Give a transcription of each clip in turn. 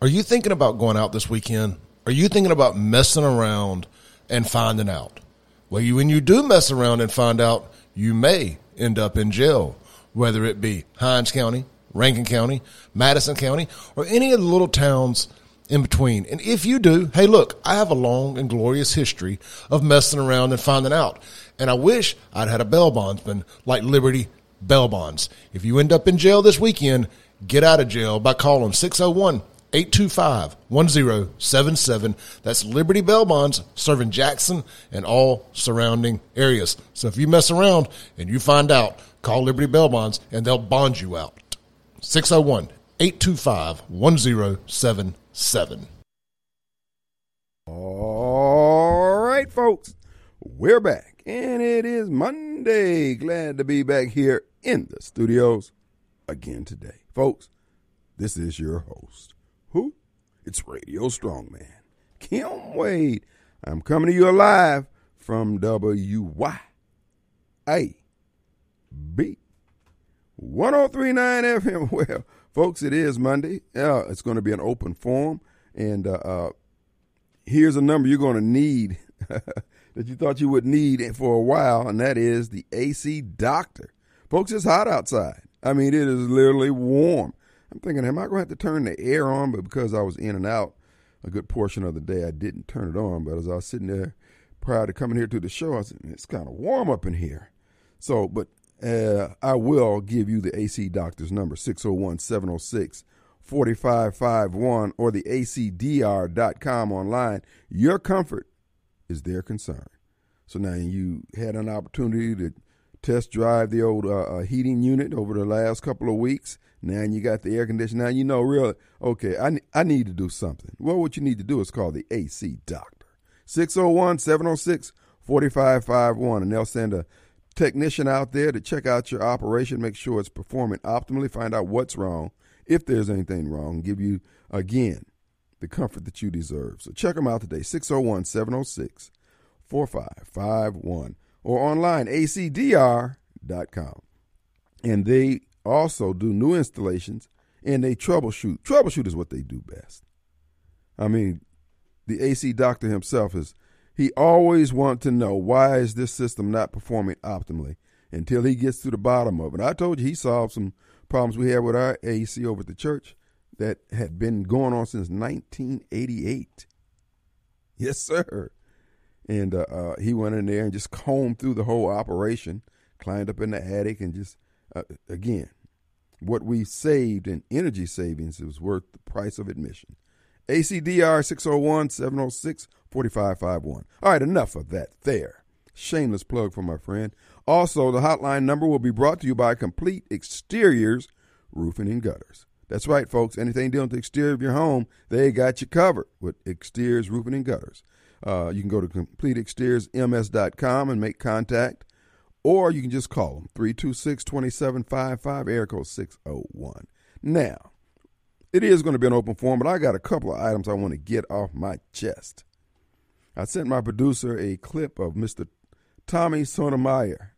Are you thinking about going out this weekend? Are you thinking about messing around and finding out? Well, when you do mess around and find out, you may end up in jail, whether it be Hinds County, Rankin County, Madison County, or any of the little towns in between. And if you do, hey, look, I have a long and glorious history of messing around and finding out. And I wish I'd had a bail bondsman like Liberty Bail Bonds. If you end up in jail this weekend, get out of jail by calling 601-825-1077. That's Liberty Bail Bonds, serving Jackson and all surrounding areas. So if you mess around and you find out, call Liberty Bail Bonds and they'll bond you out. 601-825-1077. All right, folks, we're back, and it is Monday. Glad to be back here in the studios again today. Folks, this is your host. Who? It's Radio Strongman, Kim Wade. I'm coming to you live from WYAB 1039 FM. Well, folks, it is Monday. It's going to be an open forum, and here's a number you're going to need that you thought you would need for a while, and that is the AC Doctor. Folks, it's hot outside. I mean, it is literally warm. I'm thinking, am I going to have to turn the air on? But because I was in and out a good portion of the day, I didn't turn it on. But as I was sitting there prior to coming here to the show, I said, it's kind of warm up in here. So, but I will give you the AC Doctor's number, 601-706-4551, or the acdr.com online. Your comfort is their concern. So now you had an opportunity to test drive the old heating unit over the last couple of weeks. Now you got the air conditioner. Now you know, really, okay, I need to do something. Well, what you need to do is call the AC Doctor, 601-706-4551, and they'll send a technician out there to check out your operation, make sure it's performing optimally, find out what's wrong, if there's anything wrong, give you, again, the comfort that you deserve. So check them out today, 601-706-4551, or online, acdr.com. And they also do new installations, and they troubleshoot. Troubleshoot is what they do best. I mean, the AC Doctor himself he always wants to know, why is this system not performing optimally, until he gets to the bottom of it. I told you he solved some problems we had with our AC over at the church that had been going on since 1988. Yes, sir. And he went in there and just combed through the whole operation, climbed up in the attic, and just, again, what we saved in energy savings was worth the price of admission. ACDR 601-706-4551. All right, enough of that there. Shameless plug for my friend. Also, the hotline number will be brought to you by Complete Exteriors Roofing and Gutters. That's right, folks. Anything dealing with the exterior of your home, they got you covered with Exteriors Roofing and Gutters. You can go to CompleteExteriorsMS.com and make contact, or you can just call them, 326-2755, area code 601. Now, it is going to be an open forum, but I got a couple of items I want to get off my chest. I sent my producer a clip of Mr. Tommy Sotomayor.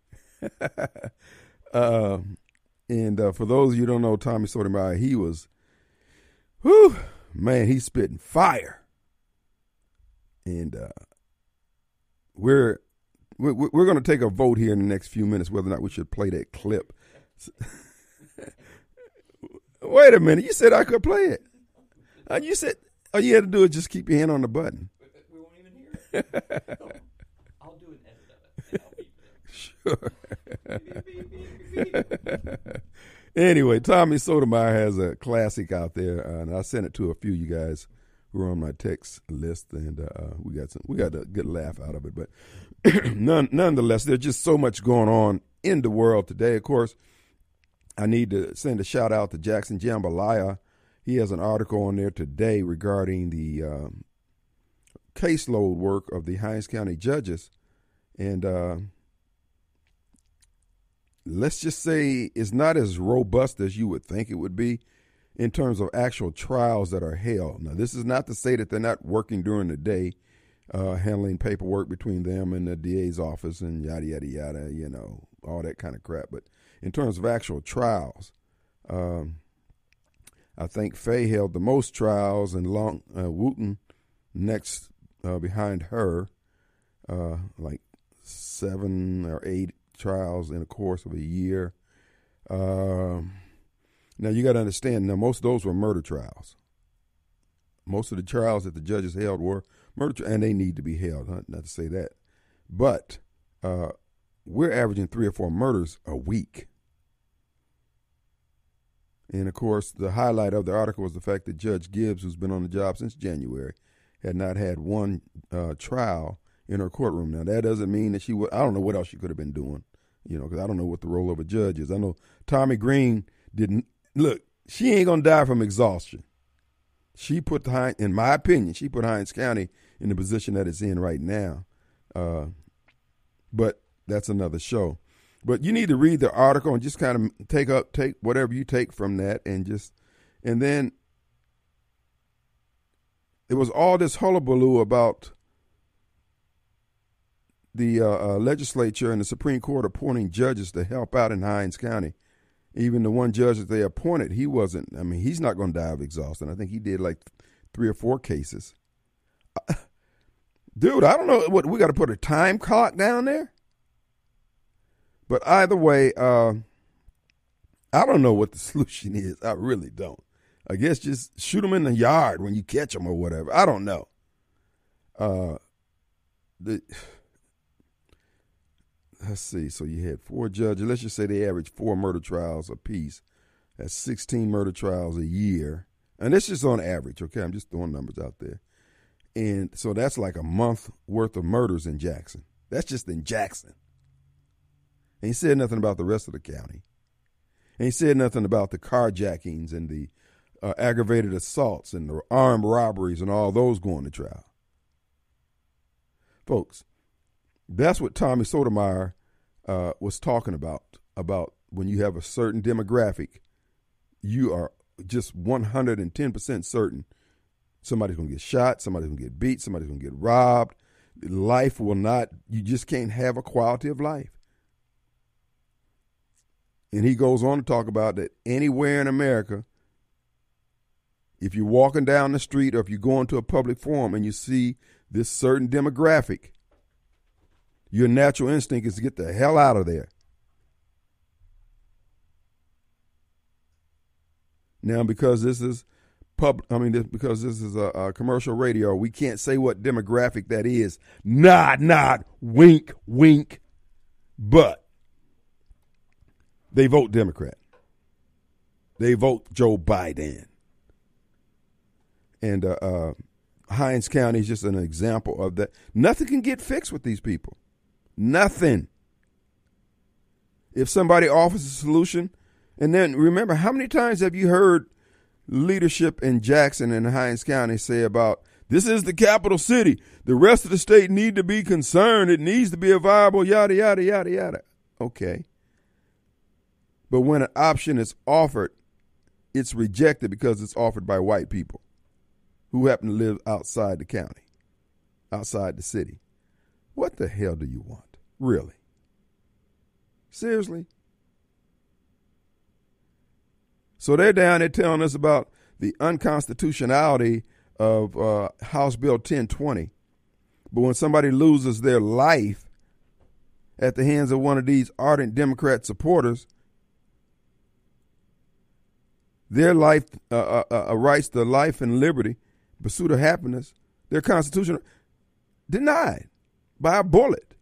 And for those of you who don't know Tommy Sotomayor, he was, he's spitting fire. And we're going to take a vote here in the next few minutes whether or not we should play that clip. Wait a minute. You said I could play it. You said all you had to do is just keep your hand on the button. We won't even hear it. I'll do an edit of it. Sure. Anyway, Tommy Sotomayor has a classic out there, and I sent it to a few of you guys who are on my text list, and we got a good laugh out of it. But nonetheless, there's just so much going on in the world today. Of course, I need to send a shout out to Jackson Jambalaya. He has an article on there today regarding the caseload work of the Hinds County judges. And let's just say it's not as robust as you would think it would be in terms of actual trials that are held. Now, this is not to say that they're not working during the day, handling paperwork between them and the DA's office and yada, yada, yada, all that kind of crap. But in terms of actual trials, I think Faye held the most trials, and Wooten next behind her, like 7 or 8 trials in the course of a year. Now, you got to understand, now most of those were murder trials. Most of the trials that the judges held were murder, and they need to be held, not to say that. But we're averaging 3 or 4 murders a week. And, of course, the highlight of the article was the fact that Judge Gibbs, who's been on the job since January, had not had one trial in her courtroom. Now, that doesn't mean that she would – I don't know what else she could have been doing, because I don't know what the role of a judge is. I know Tommy Green didn't – look, she ain't going to die from exhaustion. She put, in my opinion, she put Hinds County in the position that it's in right now. But that's another show. But you need to read the article and just kind of take whatever you take from that, and then it was all this hullabaloo about the legislature and the Supreme Court appointing judges to help out in Hinds County. Even the one judge that they appointed, he's not going to die of exhaustion. I think he did like 3 or 4 cases. Dude, I don't know what we got to put a time clock down there. But either way, I don't know what the solution is. I really don't. I guess just shoot them in the yard when you catch them or whatever. I don't know. Let's see. So you had 4 judges. Let's just say they average 4 murder trials apiece. That's 16 murder trials a year. And that's just on average, okay? I'm just throwing numbers out there. And so that's like a month worth of murders in Jackson. That's just in Jackson. And he said nothing about the rest of the county. And he said nothing about the carjackings and the aggravated assaults and the armed robberies and all those going to trial. Folks, that's what Tommy Sotomayor was talking about when you have a certain demographic, you are just 110% certain somebody's going to get shot, somebody's going to get beat, somebody's going to get robbed. Life will not, you just can't have a quality of life. And he goes on to talk about that anywhere in America, if you're walking down the street or if you're going to a public forum and you see this certain demographic, your natural instinct is to get the hell out of there. Now, because this is because this is a commercial radio, we can't say what demographic that is. Not, wink, wink, but they vote Democrat. They vote Joe Biden. And Hinds County is just an example of that. Nothing can get fixed with these people. Nothing. If somebody offers a solution, and then remember, how many times have you heard leadership in Jackson and Hinds County say about, this is the capital city, the rest of the state need to be concerned, it needs to be a viable, yada, yada, yada, yada. Okay. But when an option is offered, it's rejected because it's offered by white people who happen to live outside the county, outside the city. What the hell do you want? Really? Seriously? So they're down there telling us about the unconstitutionality of House Bill 1020. But when somebody loses their life at the hands of one of these ardent Democrat supporters, their life, rights to life and liberty, pursuit of happiness, their constitution, denied by a bullet.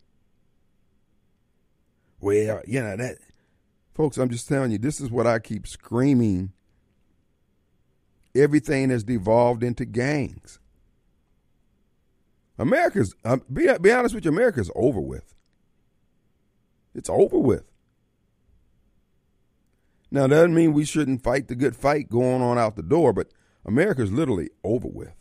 Well, that, folks, I'm just telling you, this is what I keep screaming. Everything has devolved into gangs. America's, be honest with you, America's over with. It's over with. Now, that doesn't mean we shouldn't fight the good fight going on out the door, but America's literally over with.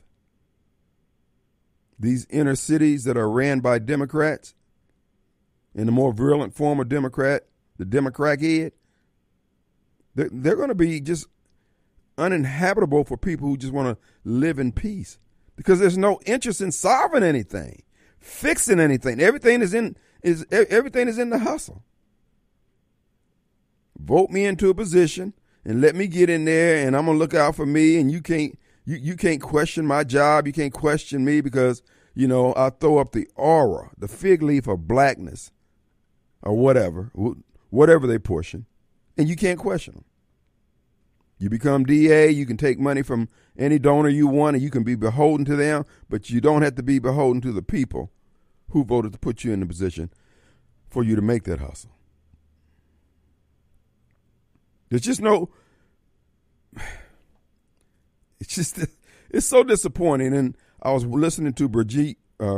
These inner cities that are ran by Democrats, in the more virulent form of Democrat, the Democrat head, they're going to be just uninhabitable for people who just want to live in peace, because there's no interest in solving anything, fixing anything. Everything is in the hustle. Vote me into a position, and let me get in there, and I'm gonna look out for me, and you can't question my job. You can't question me because, you know, I throw up the aura, the fig leaf of blackness or whatever they're pushing, and you can't question them. You become DA, you can take money from any donor you want, and you can be beholden to them, but you don't have to be beholden to the people who voted to put you in the position for you to make that hustle. There's just no, it's so disappointing. And I was listening to Brigitte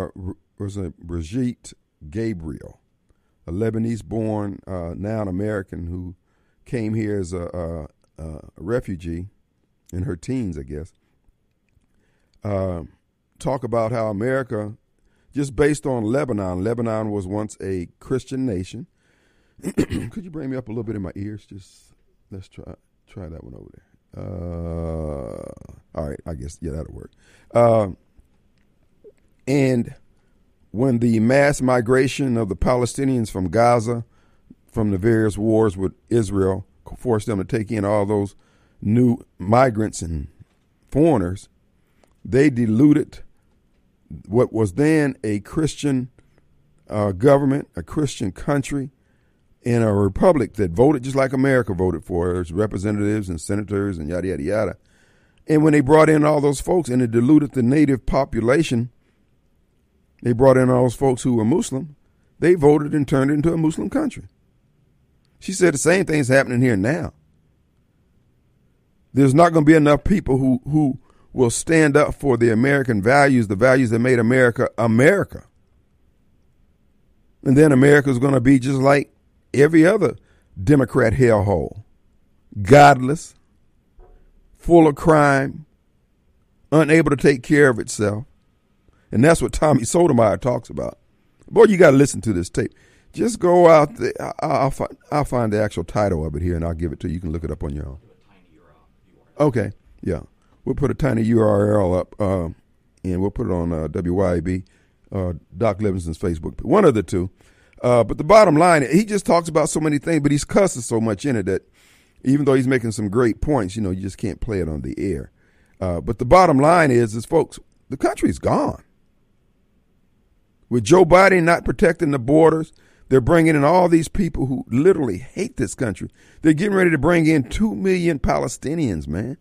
Gabriel, a Lebanese-born, now an American who came here as a refugee in her teens, I guess, talk about how America, just based on Lebanon was once a Christian nation. Could you bring me up a little bit in my ears? Let's try that one over there. All right, I guess, yeah, that'll work. And when the mass migration of the Palestinians from Gaza, from the various wars with Israel, forced them to take in all those new migrants and foreigners, they diluted what was then a Christian government, a Christian country, in a republic that voted just like America voted for its representatives and senators and yada, yada, yada. And when they brought in all those folks and it diluted the native population, they brought in all those folks who were Muslim, they voted and turned it into a Muslim country. She said the same thing's happening here now. There's not going to be enough people who will stand up for the American values, the values that made America, America. And then America's going to be just like every other Democrat hellhole. Godless, full of crime, unable to take care of itself. And that's what Tommy Sotomayor talks about. Boy, you got to listen to this tape. Just go out there. I'll find the actual title of it here, and I'll give it to you. You can look it up on your own. Okay, yeah. We'll put a tiny URL up, and we'll put it on WYAB, Doc Livingston's Facebook. One of the two. But the bottom line, he just talks about so many things, but he's cussing so much in it that even though he's making some great points, you know, you just can't play it on the air. But the bottom line is folks, the country's gone. With Joe Biden not protecting the borders, they're bringing in all these people who literally hate this country. They're getting ready to bring in 2 million Palestinians, man.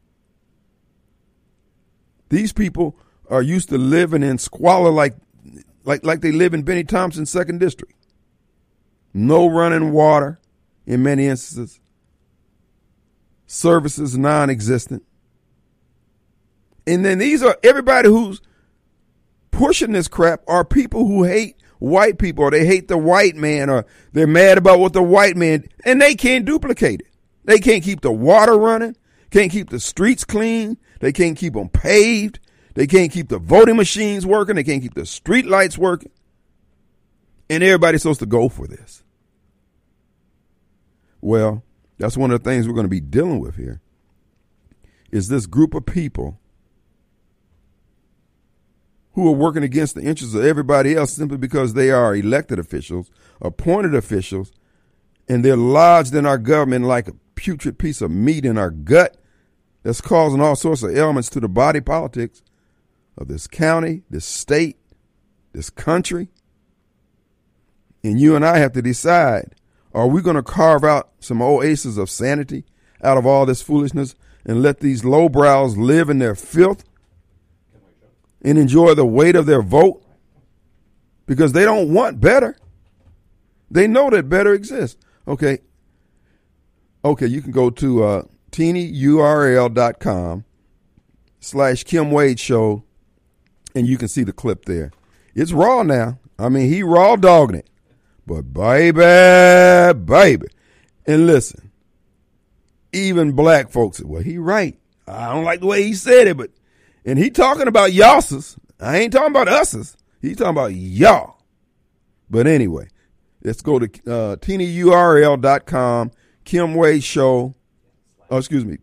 These people are used to living in squalor like they live in Benny Thompson's 2nd District. No running water in many instances. Services non-existent. And then these are everybody who's pushing this crap are people who hate white people, or they hate the white man, or they're mad about what the white man, and they can't duplicate it. They can't keep the water running, can't keep the streets clean, they can't keep them paved, they can't keep the voting machines working, they can't keep the street lights working. And everybody's supposed to go for this. Well, that's one of the things we're going to be dealing with here, is this group of people who are working against the interests of everybody else simply because they are elected officials, appointed officials, and they're lodged in our government like a putrid piece of meat in our gut that's causing all sorts of ailments to the body politics of this county, this state, this country. And you and I have to decide, are we going to carve out some oases of sanity out of all this foolishness and let these lowbrows live in their filth and enjoy the weight of their vote? Because they don't want better. They know that better exists. Okay, you can go to tinyurl.com/Kim Wade Show, and you can see the clip there. It's raw now. I mean, he raw dogging it. But baby. And listen, even black folks said, well, he right. I don't like the way he said it, and he talking about y'all's. I ain't talking about us's. He's talking about y'all. But anyway, let's go to tinyurl.com, Kim Wade Show. Oh, excuse me,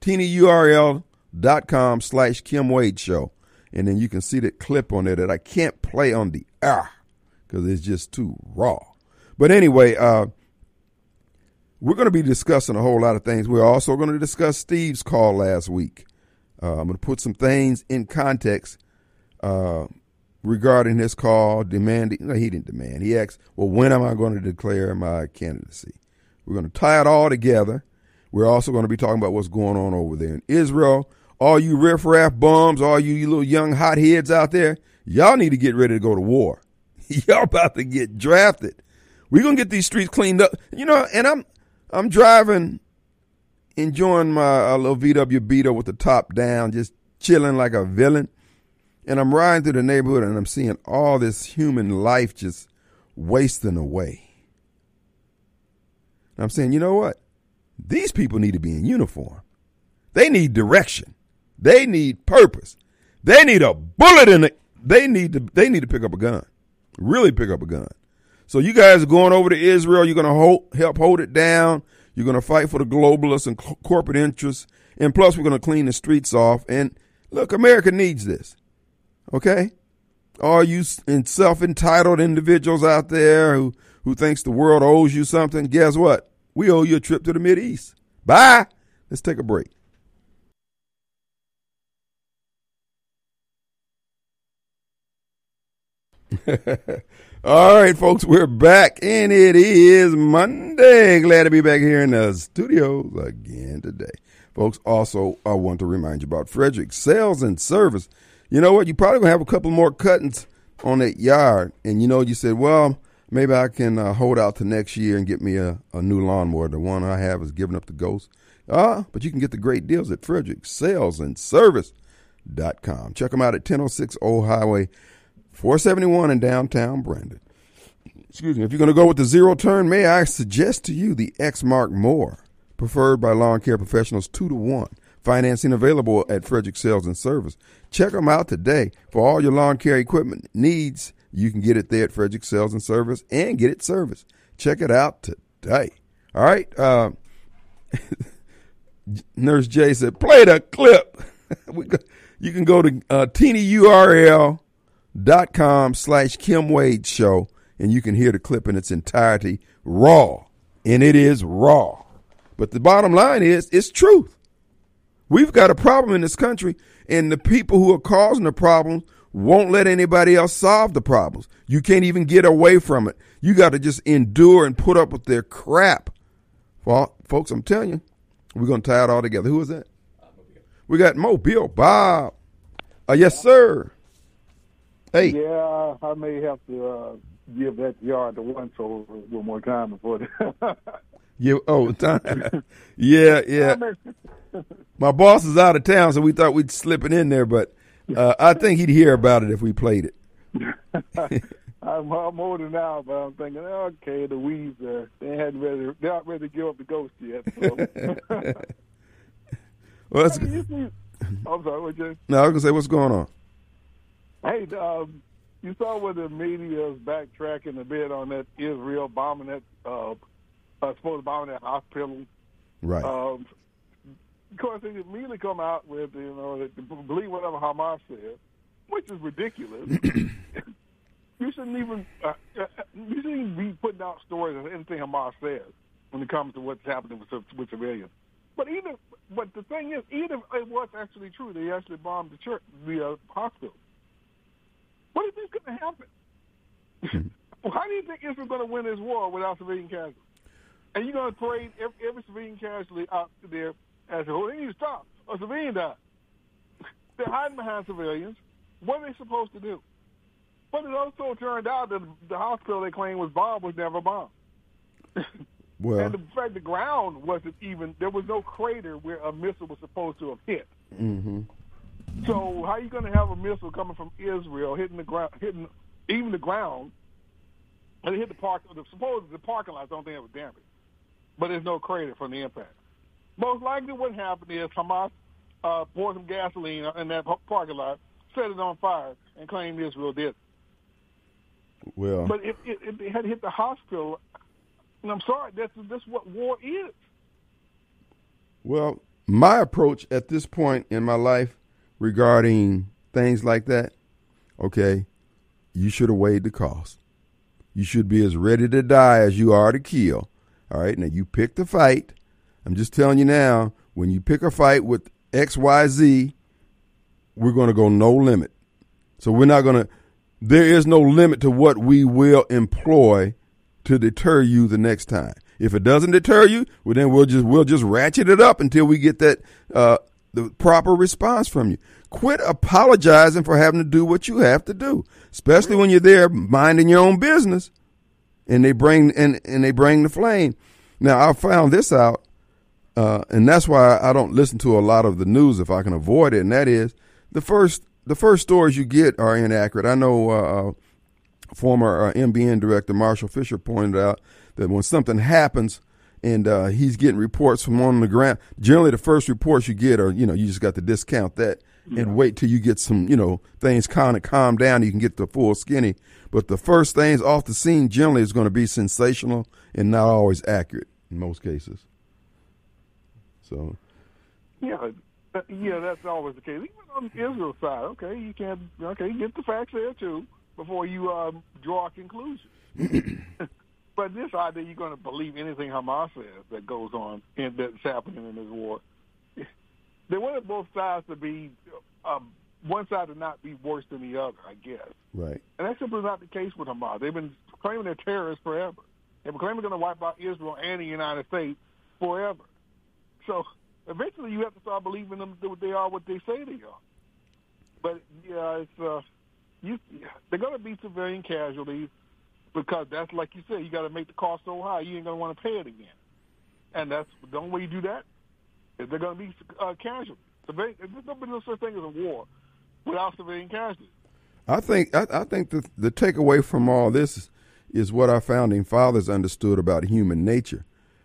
tinyurl.com/Kim Wade Show. And then you can see that clip on there that I can't play on the air because it's just too raw. But anyway, we're going to be discussing a whole lot of things. We're also going to discuss Steve's call last week. I'm going to put some things in context regarding his call, demanding. No, he didn't demand. He asked, well, when am I going to declare my candidacy? We're going to tie it all together. We're also going to be talking about what's going on over there in Israel. All you riffraff bums, all you little young hotheads out there, y'all need to get ready to go to war. Y'all about to get drafted. We're going to get these streets cleaned up. You know, and I'm driving, enjoying my little VW Beetle with the top down, just chilling like a villain. And I'm riding through the neighborhood and I'm seeing all this human life just wasting away. And I'm saying, you know what? These people need to be in uniform. They need direction. They need purpose. They need a bullet in it. They need to pick up a gun. Really pick up a gun. So you guys are going over to Israel. You're going to help hold it down. You're going to fight for the globalists and corporate interests. And plus, we're going to clean the streets off. And look, America needs this. Okay? All you self-entitled individuals out there who thinks the world owes you something, guess what? We owe you a trip to the Mideast. Bye. Let's take a break. All right, folks, we're back, and it is Monday. Glad to be back here in the studios again today. Folks, also, I want to remind you about Frederick Sales and Service. You know what? You're probably going to have a couple more cuttings on that yard, and you said, well, maybe I can hold out to next year and get me a new lawnmower. The one I have is giving up the ghost. But you can get the great deals at FrederickSalesandService.com. Check them out at 1006 Old Highway 471 in downtown Brandon. Excuse me. If you're going to go with the zero turn, may I suggest to you the Exmark More, preferred by lawn care professionals 2-to-1. Financing available at Frederick Sales and Service. Check them out today. For all your lawn care equipment needs, you can get it there at Frederick Sales and Service and get it serviced. Check it out today. All right. Nurse J said, play the clip. You can go to tinyurl.com/Kim Wade Show, and you can hear the clip in its entirety raw. And it is raw. But the bottom line is, it's truth. We've got a problem in this country, and the people who are causing the problems won't let anybody else solve the problems. You can't even get away from it. You got to just endure and put up with their crap. Well, folks, I'm telling you, we're going to tie it all together. Who is that? We got Mobile Bob. Yes, sir. Hey. Yeah, I may have to give that yard to once over one more time before that. Time. Yeah. My boss is out of town, so we thought we'd slip it in there, but I think he'd hear about it if we played it. I'm older now, but I'm thinking, okay, the weeds they're not ready to give up the ghost yet. So. Well, that's I'm sorry, what you? No, I was gonna say, what's going on? Hey, you saw where the media is backtracking a bit on that Israel bombing that supposed bombing that hospital. Right. Of course, they immediately come out with believe whatever Hamas says, which is ridiculous. You shouldn't even be putting out stories of anything Hamas says when it comes to what's happening with civilians. But the thing is, even if it was actually true, they actually bombed the church, the hospital. What do you think is going to happen? How do you think Israel's going to win this war without civilian casualties? And you're going to parade every civilian casualty out there as they need to stop. A civilian died. They're hiding behind civilians. What are they supposed to do? But it also turned out that the hospital they claimed was bombed was never bombed. Well, and the fact the ground wasn't even, there was no crater where a missile was supposed to have hit. Mm-hmm. So how are you going to have a missile coming from Israel hitting the ground, hitting even the ground, and it hit the parking lot, don't think it was damaged. But there's no crater from the impact. Most likely what happened is Hamas poured some gasoline in that parking lot, set it on fire, and claimed Israel did it. Well, but if it had hit the hospital, and I'm sorry, that's what war is. Well, my approach at this point in my life regarding things like that, okay, you should have weighed the cost. You should be as ready to die as you are to kill. All right, now you pick the fight. I'm just telling you now, when you pick a fight with XYZ, we're going to go no limit. So we're not going to, there is no limit to what we will employ to deter you the next time. If it doesn't deter you, well, then we'll just ratchet it up until we get that the proper response from you. Quit apologizing for having to do what you have to do, especially when you're there minding your own business, and they bring the flame. Now I found this out, and that's why I don't listen to a lot of the news if I can avoid it. And that is the first stories you get are inaccurate. I know former MBN director Marshall Fisher pointed out that when something happens and he's getting reports from on the ground, generally the first reports you get are, you just got to discount that and wait till you get some, things kind of calm down. You can get the full skinny. But the first things off the scene generally is going to be sensational and not always accurate in most cases. So. Yeah, that's always the case. Even on Israel's side, you get the facts there too before you draw a conclusion. But this idea you're going to believe anything Hamas says that goes on and that's happening in this war. They wanted both sides to be, one side to not be worse than the other, I guess. Right. And that's simply not the case with Hamas. They've been claiming they're terrorists forever. They've been claiming they're going to wipe out Israel and the United States forever. So eventually you have to start believing them that they are what they say they are. But, they're going to be civilian casualties because that's, like you said, you got to make the cost so high you ain't going to want to pay it again. And that's the only way you do that is they're going to be casualties. There's no such thing as a war without civilian casualties. I think the takeaway from all this is what our founding fathers understood about human nature.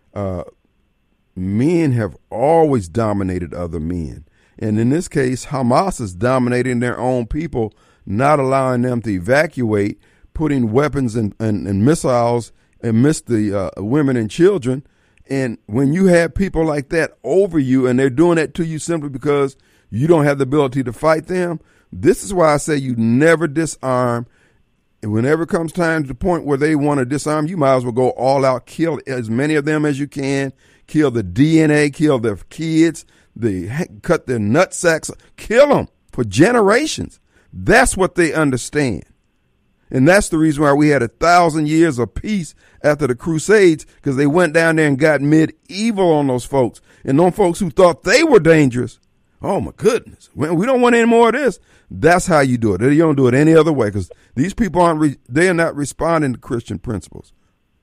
Men have always dominated other men. And in this case, Hamas is dominating their own people, not allowing them to evacuate, putting weapons and missiles amidst the women and children. And when you have people like that over you and they're doing that to you simply because you don't have the ability to fight them, this is why I say you never disarm. And whenever it comes time to the point where they want to disarm, you might as well go all out, kill as many of them as you can, kill the DNA, kill their kids, cut their nut sacks, kill them for generations. That's what they understand. And that's the reason why we had 1,000 years of peace after the Crusades, because they went down there and got medieval on those folks. And those folks who thought they were dangerous, oh my goodness, we don't want any more of this. That's how you do it. You don't do it any other way, because these people they are not responding to Christian principles.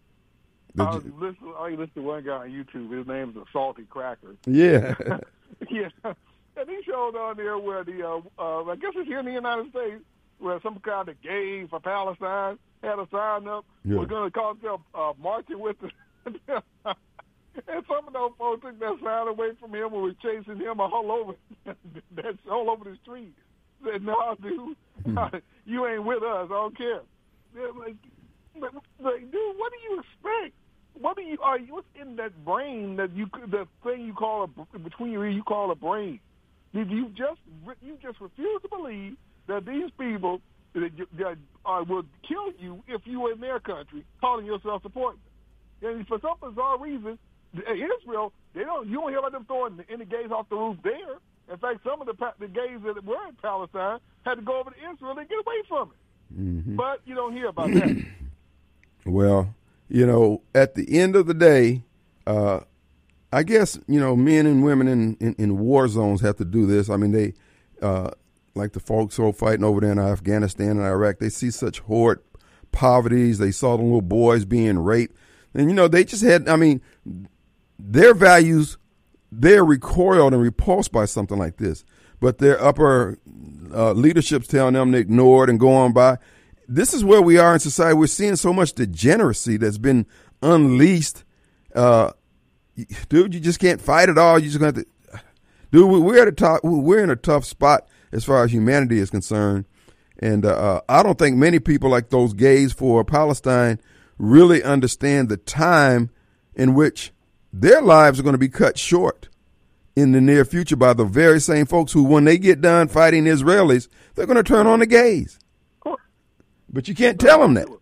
I listened to one guy on YouTube. His name is Salty Cracker. Yeah. Yeah. And he showed on there where I guess it's here in the United States, where some kind of gay for Palestine had a sign up. Yeah. We're going to call themselves marching with the and some of those folks took that sign away from him and were chasing him all over the street. Said, "No, dude, you ain't with us. I don't care." They're like, dude, what do you expect? What's in that brain that the thing you call between your ears you call a brain? Did you just refuse to believe that these people that will kill you if you were in their country, calling yourself supporting them? And for some bizarre reason, Israel, you don't hear about them throwing any gays off the roof there. In fact, some of the gays that were in Palestine had to go over to Israel and get away from it. Mm-hmm. But you don't hear about that. Well, at the end of the day, I guess, men and women in war zones have to do this. I mean, they, like the folks who are fighting over there in Afghanistan and Iraq, they see such horrid poverties. They saw the little boys being raped. And, they just had, their values, they're recoiled and repulsed by something like this. But their upper leadership's telling them to ignore it and go on by. This is where we are in society. We're seeing so much degeneracy that's been unleashed. Dude, you just can't fight it all. You just got to, dude. We're in a tough spot as far as humanity is concerned, and I don't think many people like those gays for Palestine really understand the time in which their lives are going to be cut short in the near future by the very same folks who, when they get done fighting Israelis, they're going to turn on the gays. But you can't tell them that.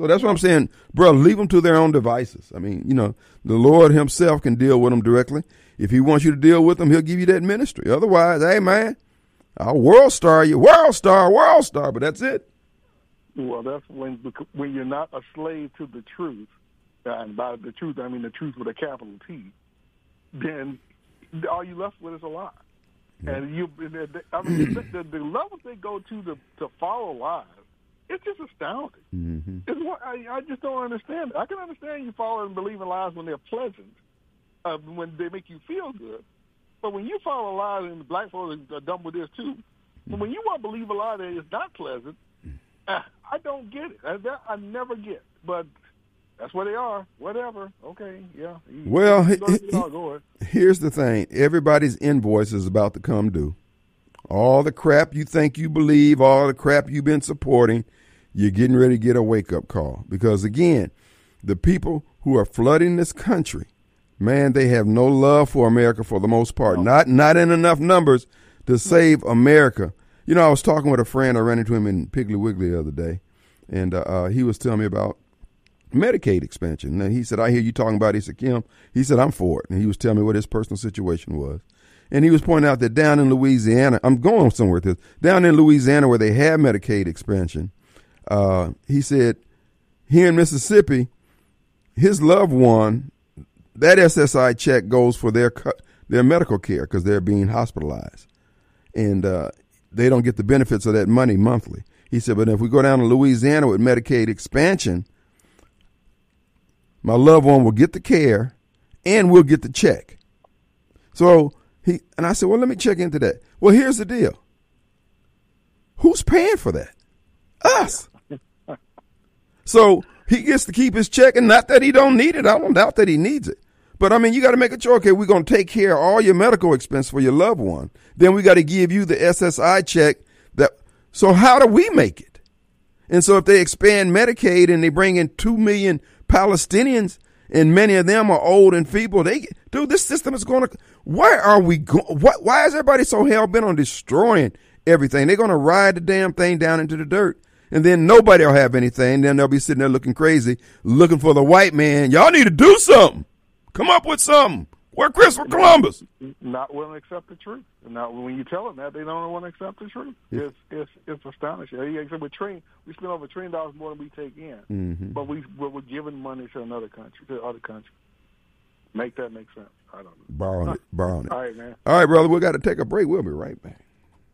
So that's what I'm saying, bro. Leave them to their own devices. I mean, the Lord himself can deal with them directly. If he wants you to deal with them, he'll give you that ministry. Otherwise, hey, man, I'll world star you, world star, but that's it. Well, that's when you're not a slave to the truth, and by the truth, I mean the truth with a capital T, then all you left with is a lie. Yeah. And the levels they go to follow lies, it's just astounding. Mm-hmm. I just don't understand it. I can understand you follow and believe in lies when they're pleasant, when they make you feel good. But when you follow lies, and black folks are dumb with this too, but when you want to believe a lie that is not pleasant, I don't get it. I never get. But that's where they are. Whatever. Okay. Yeah. Well, here's the thing. Everybody's invoice is about to come due. All the crap you think you believe, all the crap you've been supporting, you're getting ready to get a wake-up call. Because, again, the people who are flooding this country, man, they have no love for America for the most part. No. Not in enough numbers to save America. I was talking with a friend. I ran into him in Piggly Wiggly the other day, and he was telling me about Medicaid expansion. And he said, I hear you talking about it. He said, Kim, he said, I'm for it. And he was telling me what his personal situation was. And he was pointing out that down in Louisiana, I'm going somewhere with this, down in Louisiana where they have Medicaid expansion, he said, here in Mississippi, his loved one, that SSI check goes for their medical care because they're being hospitalized. And they don't get the benefits of that money monthly. He said, but if we go down to Louisiana with Medicaid expansion, my loved one will get the care and we'll get the check. So I said, well, let me check into that. Well, here's the deal. Who's paying for that? Us. So he gets to keep his check, and not that he don't need it. I don't doubt that he needs it. But, I mean, you got to make a choice. Okay, we're going to take care of all your medical expense for your loved one. Then we got to give you the SSI check. So how do we make it? And so if they expand Medicaid and they bring in 2 million Palestinians, and many of them are old and feeble, this system is going to, where are we going? Why is everybody so hell-bent on destroying everything? They're going to ride the damn thing down into the dirt. And then nobody will have anything. Then they'll be sitting there looking crazy, looking for the white man. Y'all need to do something. Come up with something. We're Christopher Columbus. Not willing to accept the truth. Now, when you tell them that, they don't want to accept the truth. Yeah. It's astonishing. We spend over $1 trillion more than we take in, mm-hmm. but we're giving money to other countries. Make that make sense. I don't know. Borrowing it. All right, man. All right, brother. We got to take a break. We'll be right back.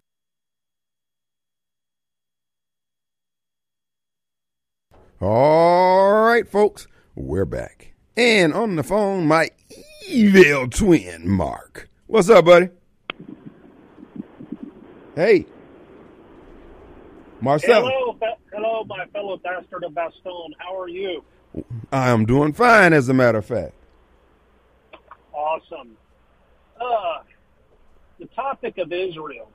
All right, folks. We're back. And on the phone, my evil twin, Mark. What's up, buddy? Hey. Marcel. Hello, my fellow bastard of Bastogne. How are you? I am doing fine, as a matter of fact. Awesome. The topic of Israel.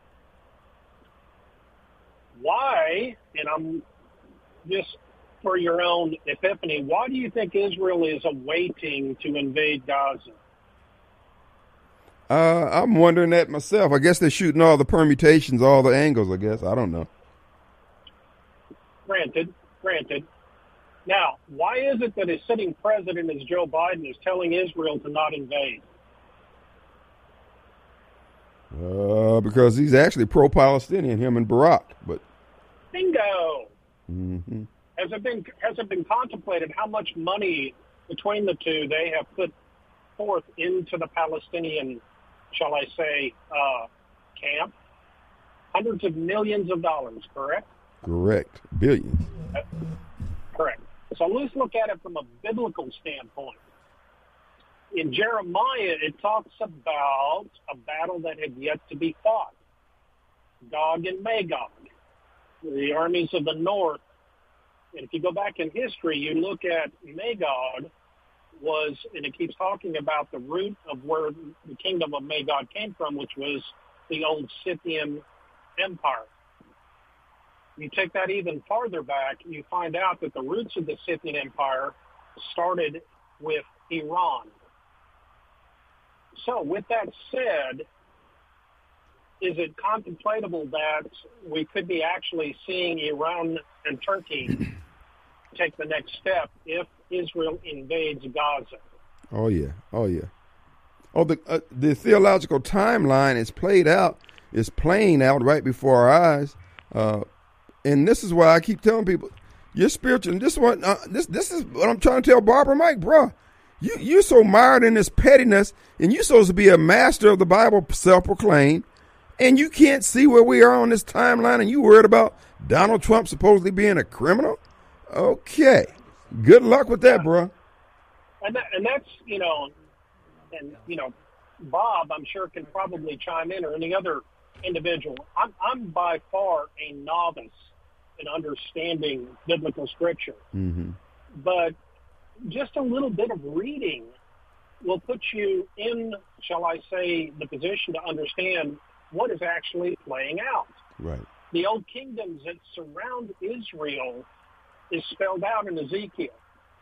Why, and I'm just for your own epiphany, why do you think Israel is awaiting to invade Gaza? I'm wondering that myself. I guess they're shooting all the permutations, all the angles, I guess. I don't know. Granted. Now, why is it that a sitting president as Joe Biden is telling Israel to not invade? Because he's actually pro-Palestinian, him and Barack. But bingo. Mm-hmm. Has it been contemplated how much money between the two they have put forth into the Palestinian, shall I say, camp? Hundreds of millions of dollars, correct? Correct. Billions. Correct. So let's look at it from a biblical standpoint. In Jeremiah, it talks about a battle that had yet to be fought. Gog and Magog, the armies of the north. And if you go back in history, you look at Magog and it keeps talking about the root of where the kingdom of Magog came from, which was the old Scythian Empire. You take that even farther back, you find out that the roots of the Scythian Empire started with Iran. So with that said, is it contemplatable that we could be actually seeing Iran and Turkey take the next step if Israel invades Gaza. Oh yeah. Oh yeah. Oh, the theological timeline is played out. It's playing out right before our eyes. And this is why I keep telling people, you're spiritual. And this is what I'm trying to tell Barbara Mike, bro. You're so mired in this pettiness, and you're supposed to be a master of the Bible, self-proclaimed, and you can't see where we are on this timeline, and you worried about Donald Trump supposedly being a criminal? Okay. Good luck with that, bro. And that's, Bob, I'm sure, can probably chime in, or any other individual. I'm by far a novice in understanding biblical scripture. Mm-hmm. But just a little bit of reading will put you in, shall I say, the position to understand what is actually playing out. Right. The old kingdoms that surround Israel is spelled out in Ezekiel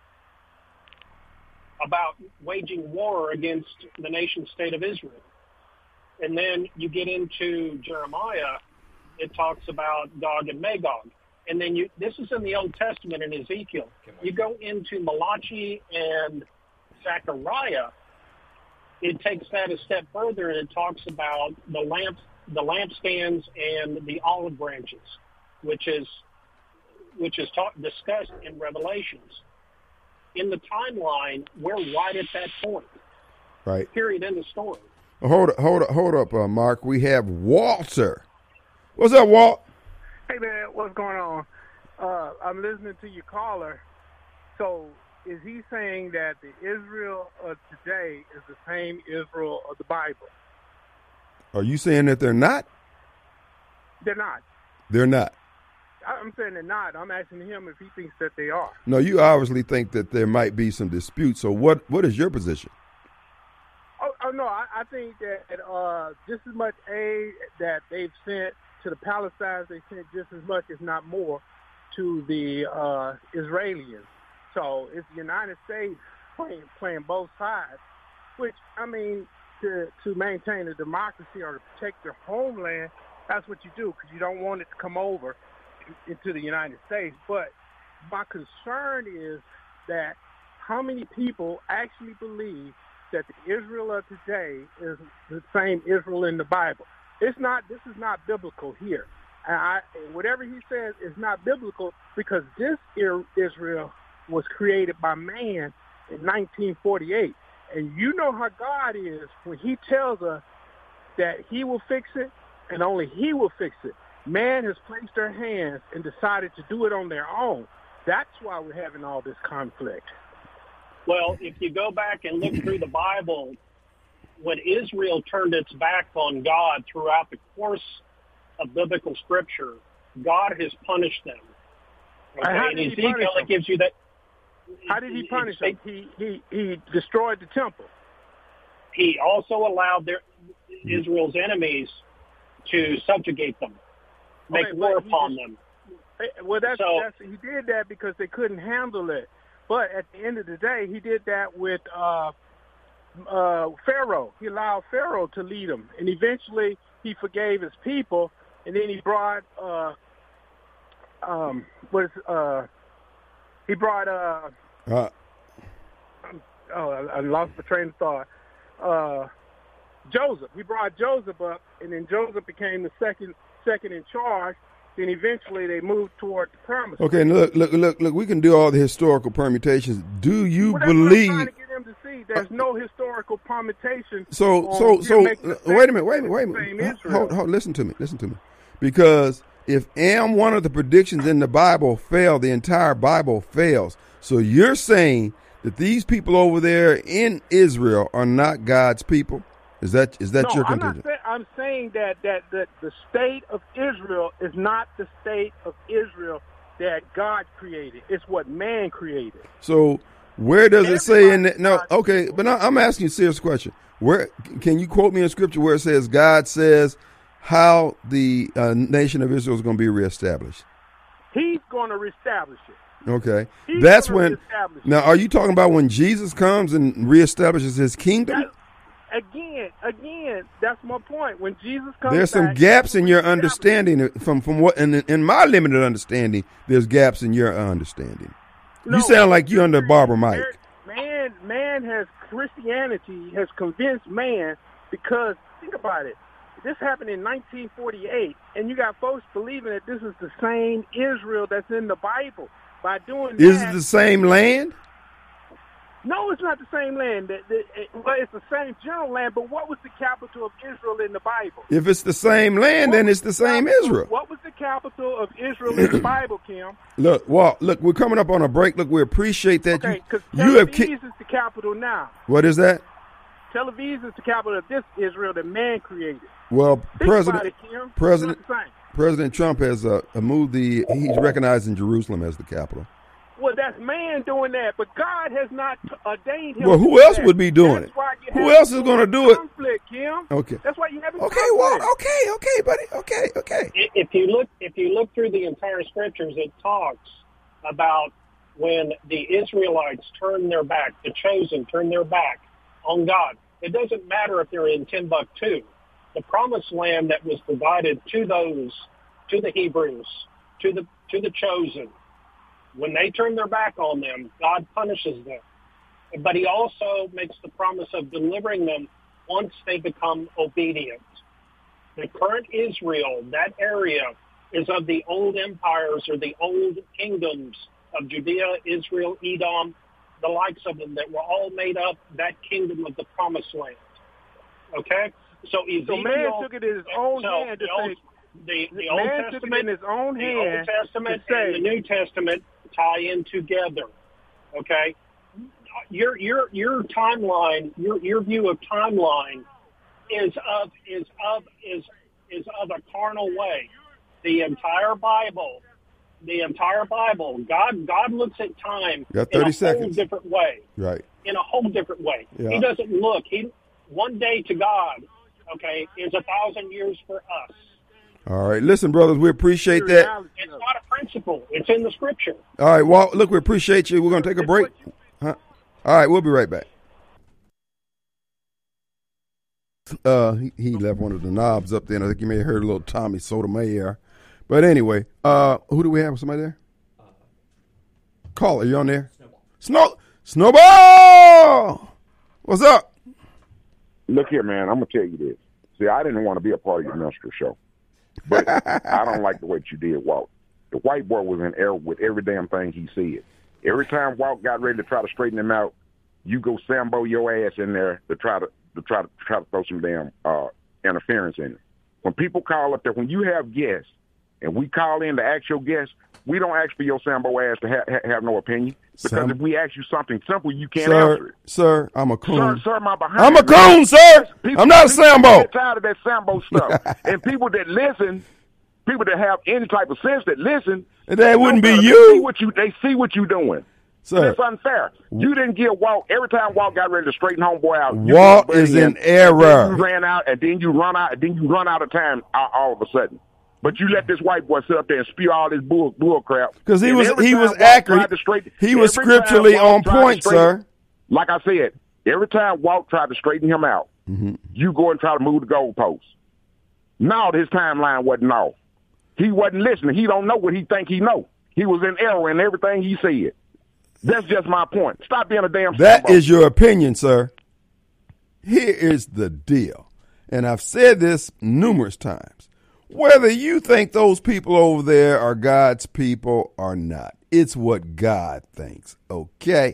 about waging war against the nation state of Israel. And then you get into Jeremiah, it talks about Gog and Magog. And then this is in the Old Testament in Ezekiel. You go into Malachi and Zechariah, it takes that a step further, and it talks about the lampstands and the olive branches, which is discussed in Revelations. In the timeline, we're right at that point. Right. Period. End of story. Hold up, Mark. We have Walter. What's up, Walt? Hey, man, what's going on? I'm listening to your caller. So is he saying that the Israel of today is the same Israel of the Bible? Are you saying that they're not? They're not. They're not. I'm saying they're not. I'm asking him if he thinks that they are. No, you obviously think that there might be some dispute. So what is your position? Oh no, I think that just as much aid that they've sent to the Palestinians, they sent just as much, if not more, to the Israelis. So it's the United States playing both sides, which, I mean, to maintain a democracy or to protect your homeland, that's what you do, because you don't want it to come over into the United States. But my concern is that how many people actually believe that the Israel of today is the same Israel in the Bible. This is not biblical here. And whatever he says is not biblical, because this Israel was created by man in 1948. And you know how God is when he tells us that he will fix it, and only he will fix it. Man has placed their hands and decided to do it on their own. That's why we're having all this conflict. Well, if you go back and look through the Bible, when Israel turned its back on God throughout the course of biblical scripture, God has punished them. Okay? How did he Ezekiel, punish them? it gives you that. How did he punish them? He destroyed the temple. He also allowed Israel's enemies to subjugate them, make war upon them. Well, he did that because they couldn't handle it. But at the end of the day, he did that with Pharaoh. He allowed Pharaoh to lead him, and eventually he forgave his people. And then he brought I lost my train of thought. Joseph. He brought Joseph up, and then Joseph became the second in charge. Then eventually they moved toward the promise. Okay, look. We can do all the historical permutations. Do you What believe? I'm trying to get him to see. There's no historical permutation. So wait a minute. Hold, listen to me. Because if one of the predictions in the Bible failed, the entire Bible fails. So you're saying that these people over there in Israel are not God's people? Is that your contention? I'm saying that the state of Israel is not the state of Israel that God created. It's what man created. So where does it say in that? No, okay, but I'm asking you a serious question. Where can you quote me in scripture where it says God says how the nation of Israel is going to be reestablished? He's going to reestablish it. Okay, that's when. Now, are you talking about when Jesus comes and reestablishes His kingdom? Again, that's my point. When Jesus comes, there's some gaps in your understanding from what, in my limited understanding, there's gaps in your understanding. You sound like you under Barbara Mike. Christianity has convinced man, because think about it. This happened in 1948, and you got folks believing that this is the same Israel that's in the Bible. By doing that, is it the same land? No, it's not the same land. Well, it's the same general land, but what was the capital of Israel in the Bible? If it's the same land, then it's the same Israel. What was the capital of Israel in the Bible, Kim? Look, Walt, look, we're coming up on a break. Look, we appreciate that. Okay, because Tel Aviv is the capital now. What is that? Tel Aviv is the capital of this Israel that man created. Well, President Trump has moved he's recognizing Jerusalem as the capital. Well, that's man doing that, but God has not ordained him. Well, who else would be doing it? Who else is going to do it? Conflict, Kim. Okay. That's why you have conflict. Well, okay, buddy. Okay. If you look through the entire scriptures, it talks about when the Israelites turn their back, the chosen turn their back on God. It doesn't matter if they're in Timbuktu. The promised land that was provided to the Hebrews, to the chosen. When they turn their back on them, God punishes them. But he also makes the promise of delivering them once they become obedient. The current Israel, that area, is of the old empires or the old kingdoms of Judea, Israel, Edom, the likes of them that were all made up that kingdom of the promised land. Okay? So man took it in his own hand to say, the Old Testament, in his own hand, the Old Testament and the New Testament tie in together. Okay, your timeline, your view of timeline is of a carnal way. The entire Bible, God looks at time in a whole different way. Right. In a whole different way. Yeah. He doesn't look. One day to God, okay, is 1,000 years for us. All right. Listen, brothers, we appreciate that. It's not a principle. It's in the scripture. All right. Well, look, we appreciate you. We're going to take a break. Huh? All right. We'll be right back. He left one of the knobs up there, and I think you may have heard a little Tommy Sotomayor. But anyway, who do we have? Somebody there? Caller, you on there? Snowball! What's up? Look here, man. I'm going to tell you this. See, I didn't want to be a part of your minstrel show. But I don't like the way that you did, Walt. The white boy was in error with every damn thing he said. Every time Walt got ready to try to straighten him out, you go Sambo your ass in there to try to throw some damn interference in it. When people call up there, when you have guests, and we call in to ask your guests, we don't ask for your Sambo ass to have no opinion. Because if we ask you something simple, you can't answer it. Sir, I'm a coon. Sir, my behind. I'm a coon, sir. I'm not a Sambo. Get tired of that Sambo stuff. And people that listen, people that have any type of sense that listen, that wouldn't be you. They see what you're doing. Sir, it's unfair. You didn't give Walt, every time Walt got ready to straighten homeboy out, Walt is in error. You ran out, and then you run out, and then you run out of time all of a sudden. But you let this white boy sit up there and spew all this bull crap. Because he was accurate. He was scripturally on point, sir. Like I said, every time Walt tried to straighten him out, you go and try to move the goalposts. No, his timeline wasn't off. He wasn't listening. He don't know what he think he know. He was in error in everything he said. That's just my point. Stop being a damn That is your opinion, sir. Here is the deal. And I've said this numerous times. Whether you think those people over there are God's people or not, it's what God thinks, okay?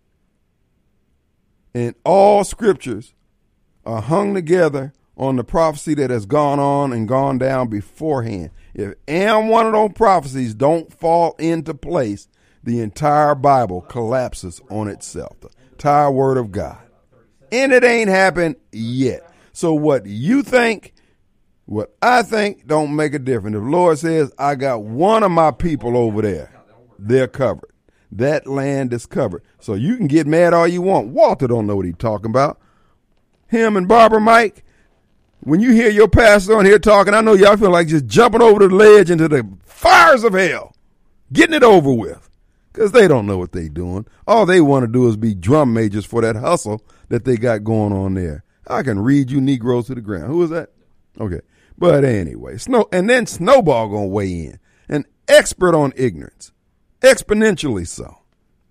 And all scriptures are hung together on the prophecy that has gone on and gone down beforehand. If one of those prophecies don't fall into place, the entire Bible collapses on itself, the entire Word of God. And it ain't happened yet. So what you think, what I think, don't make a difference. If the Lord says, I got one of my people over there, they're covered. That land is covered. So you can get mad all you want. Walter don't know what he's talking about. Him and Barbara Mike, when you hear your pastor on here talking, I know y'all feel like just jumping over the ledge into the fires of hell, getting it over with, because they don't know what they're doing. All they want to do is be drum majors for that hustle that they got going on there. I can read you Negroes to the ground. Who is that? Okay. But anyway, Snowball gonna weigh in. An expert on ignorance. Exponentially so.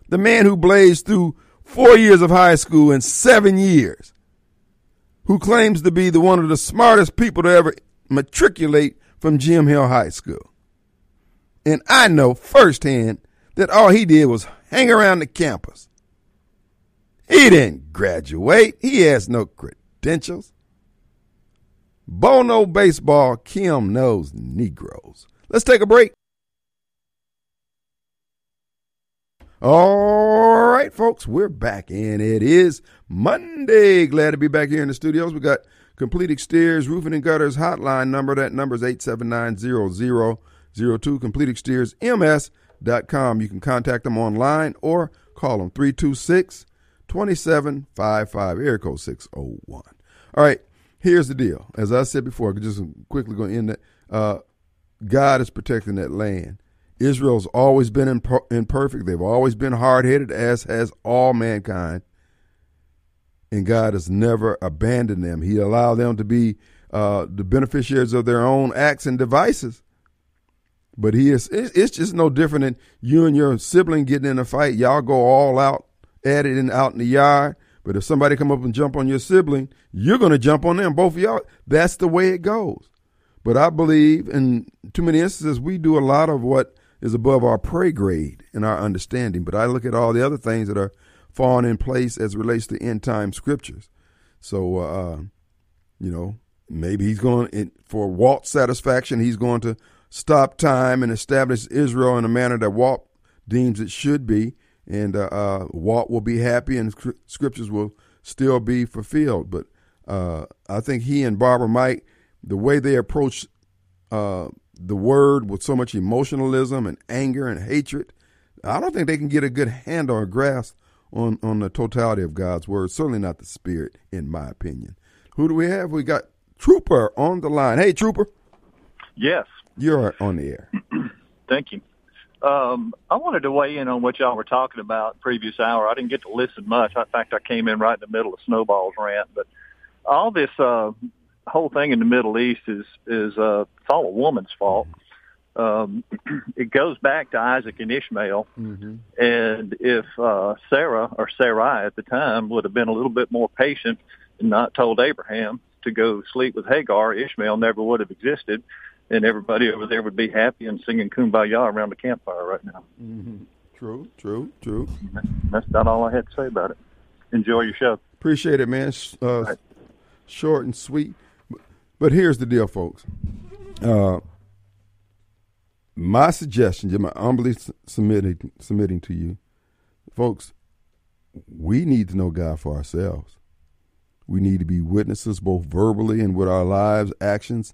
The man who blazed through 4 years of high school in 7 years, who claims to be one of the smartest people to ever matriculate from Jim Hill High School. And I know firsthand that all he did was hang around the campus. He didn't graduate. He has no credentials. Bo knows baseball. Kim knows Negroes. Let's take a break. All right, folks, we're back, and it is Monday. Glad to be back here in the studios. We got Complete Exteriors Roofing and Gutters hotline number. That number is 879-0002, CompleteExteriorsMS.com. You can contact them online or call them 326-2755, area code 601. All right, here's the deal. As I said before, I'm just quickly going to end that. God is protecting that land. Israel's always been imperfect. They've always been hard-headed, as has all mankind. And God has never abandoned them. He allowed them to be the beneficiaries of their own acts and devices. But it's just no different than you and your sibling getting in a fight. Y'all go all out at it and out in the yard. But if somebody come up and jump on your sibling, you're going to jump on them, both of y'all. That's the way it goes. But I believe in too many instances we do a lot of what is above our pay grade in our understanding. But I look at all the other things that are falling in place as it relates to end time scriptures. So, maybe he's going, for Walt's satisfaction, he's going to stop time and establish Israel in a manner that Walt deems it should be. And Walt will be happy and scriptures will still be fulfilled. But I think he and Barbara Mike, the way they approach the word with so much emotionalism and anger and hatred, I don't think they can get a good handle or grasp on the totality of God's word. Certainly not the spirit, in my opinion. Who do we have? We got Trooper on the line. Hey, Trooper. Yes. You're on the air. Thank you. I wanted to weigh in on what y'all were talking about previous hour. I didn't get to listen much. In fact, I came in right in the middle of Snowball's rant. But all this whole thing in the Middle East is it's all a woman's fault. It goes back to Isaac and Ishmael. Mm-hmm. And if Sarah or Sarai at the time would have been a little bit more patient and not told Abraham to go sleep with Hagar, Ishmael never would have existed, and everybody over there would be happy and singing Kumbaya around the campfire right now. Mm-hmm. True. That's about all I had to say about it. Enjoy your show. Appreciate it, man. Right. Short and sweet. But here's the deal, folks. My suggestion, just my humbly submitting to you, folks, we need to know God for ourselves. We need to be witnesses both verbally and with our lives, actions,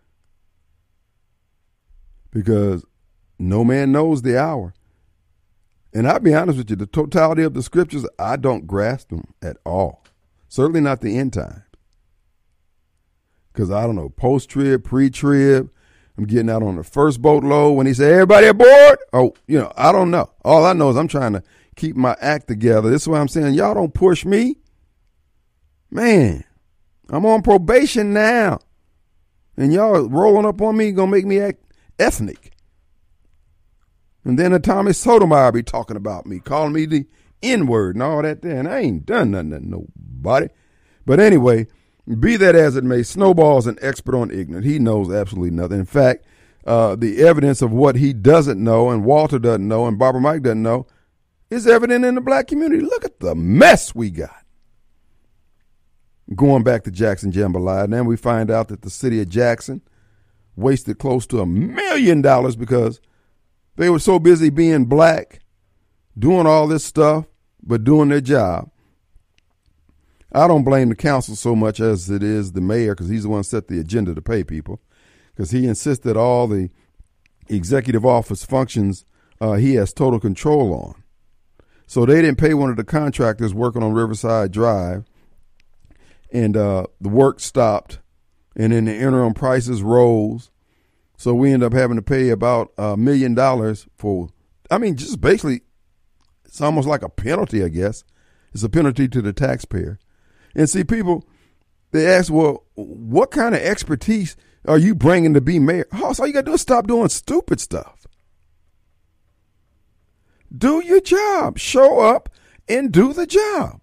because no man knows the hour. And I'll be honest with you, the totality of the scriptures, I don't grasp them at all. Certainly not the end time. Because I don't know, post-trib, pre-trib, I'm getting out on the first boatload when he said, everybody aboard? Oh, I don't know. All I know is I'm trying to keep my act together. This is why I'm saying, y'all don't push me. Man, I'm on probation now. And y'all rolling up on me, going to make me act ethnic. And then Tommy Sotomayor be talking about me, calling me the N-word and all that there. And I ain't done nothing to nobody. But anyway, be that as it may, Snowball's an expert on ignorance. He knows absolutely nothing. In fact, the evidence of what he doesn't know and Walter doesn't know and Barbara Mike doesn't know is evident in the black community. Look at the mess we got. Going back to Jackson Jambalaya, then we find out that the city of Jackson wasted close to $1 million because they were so busy being black, doing all this stuff, but doing their job. I don't blame the council so much as it is the mayor, because he's the one who set the agenda to pay people, because he insisted all the executive office functions he has total control on. So they didn't pay one of the contractors working on Riverside Drive, and the work stopped, and then the interim prices rose. So we end up having to pay about $1 million for, just basically, it's almost like a penalty, I guess. It's a penalty to the taxpayer. And see, people, they ask, well, what kind of expertise are you bringing to be mayor? Oh, so all you got to do is stop doing stupid stuff. Do your job. Show up and do the job.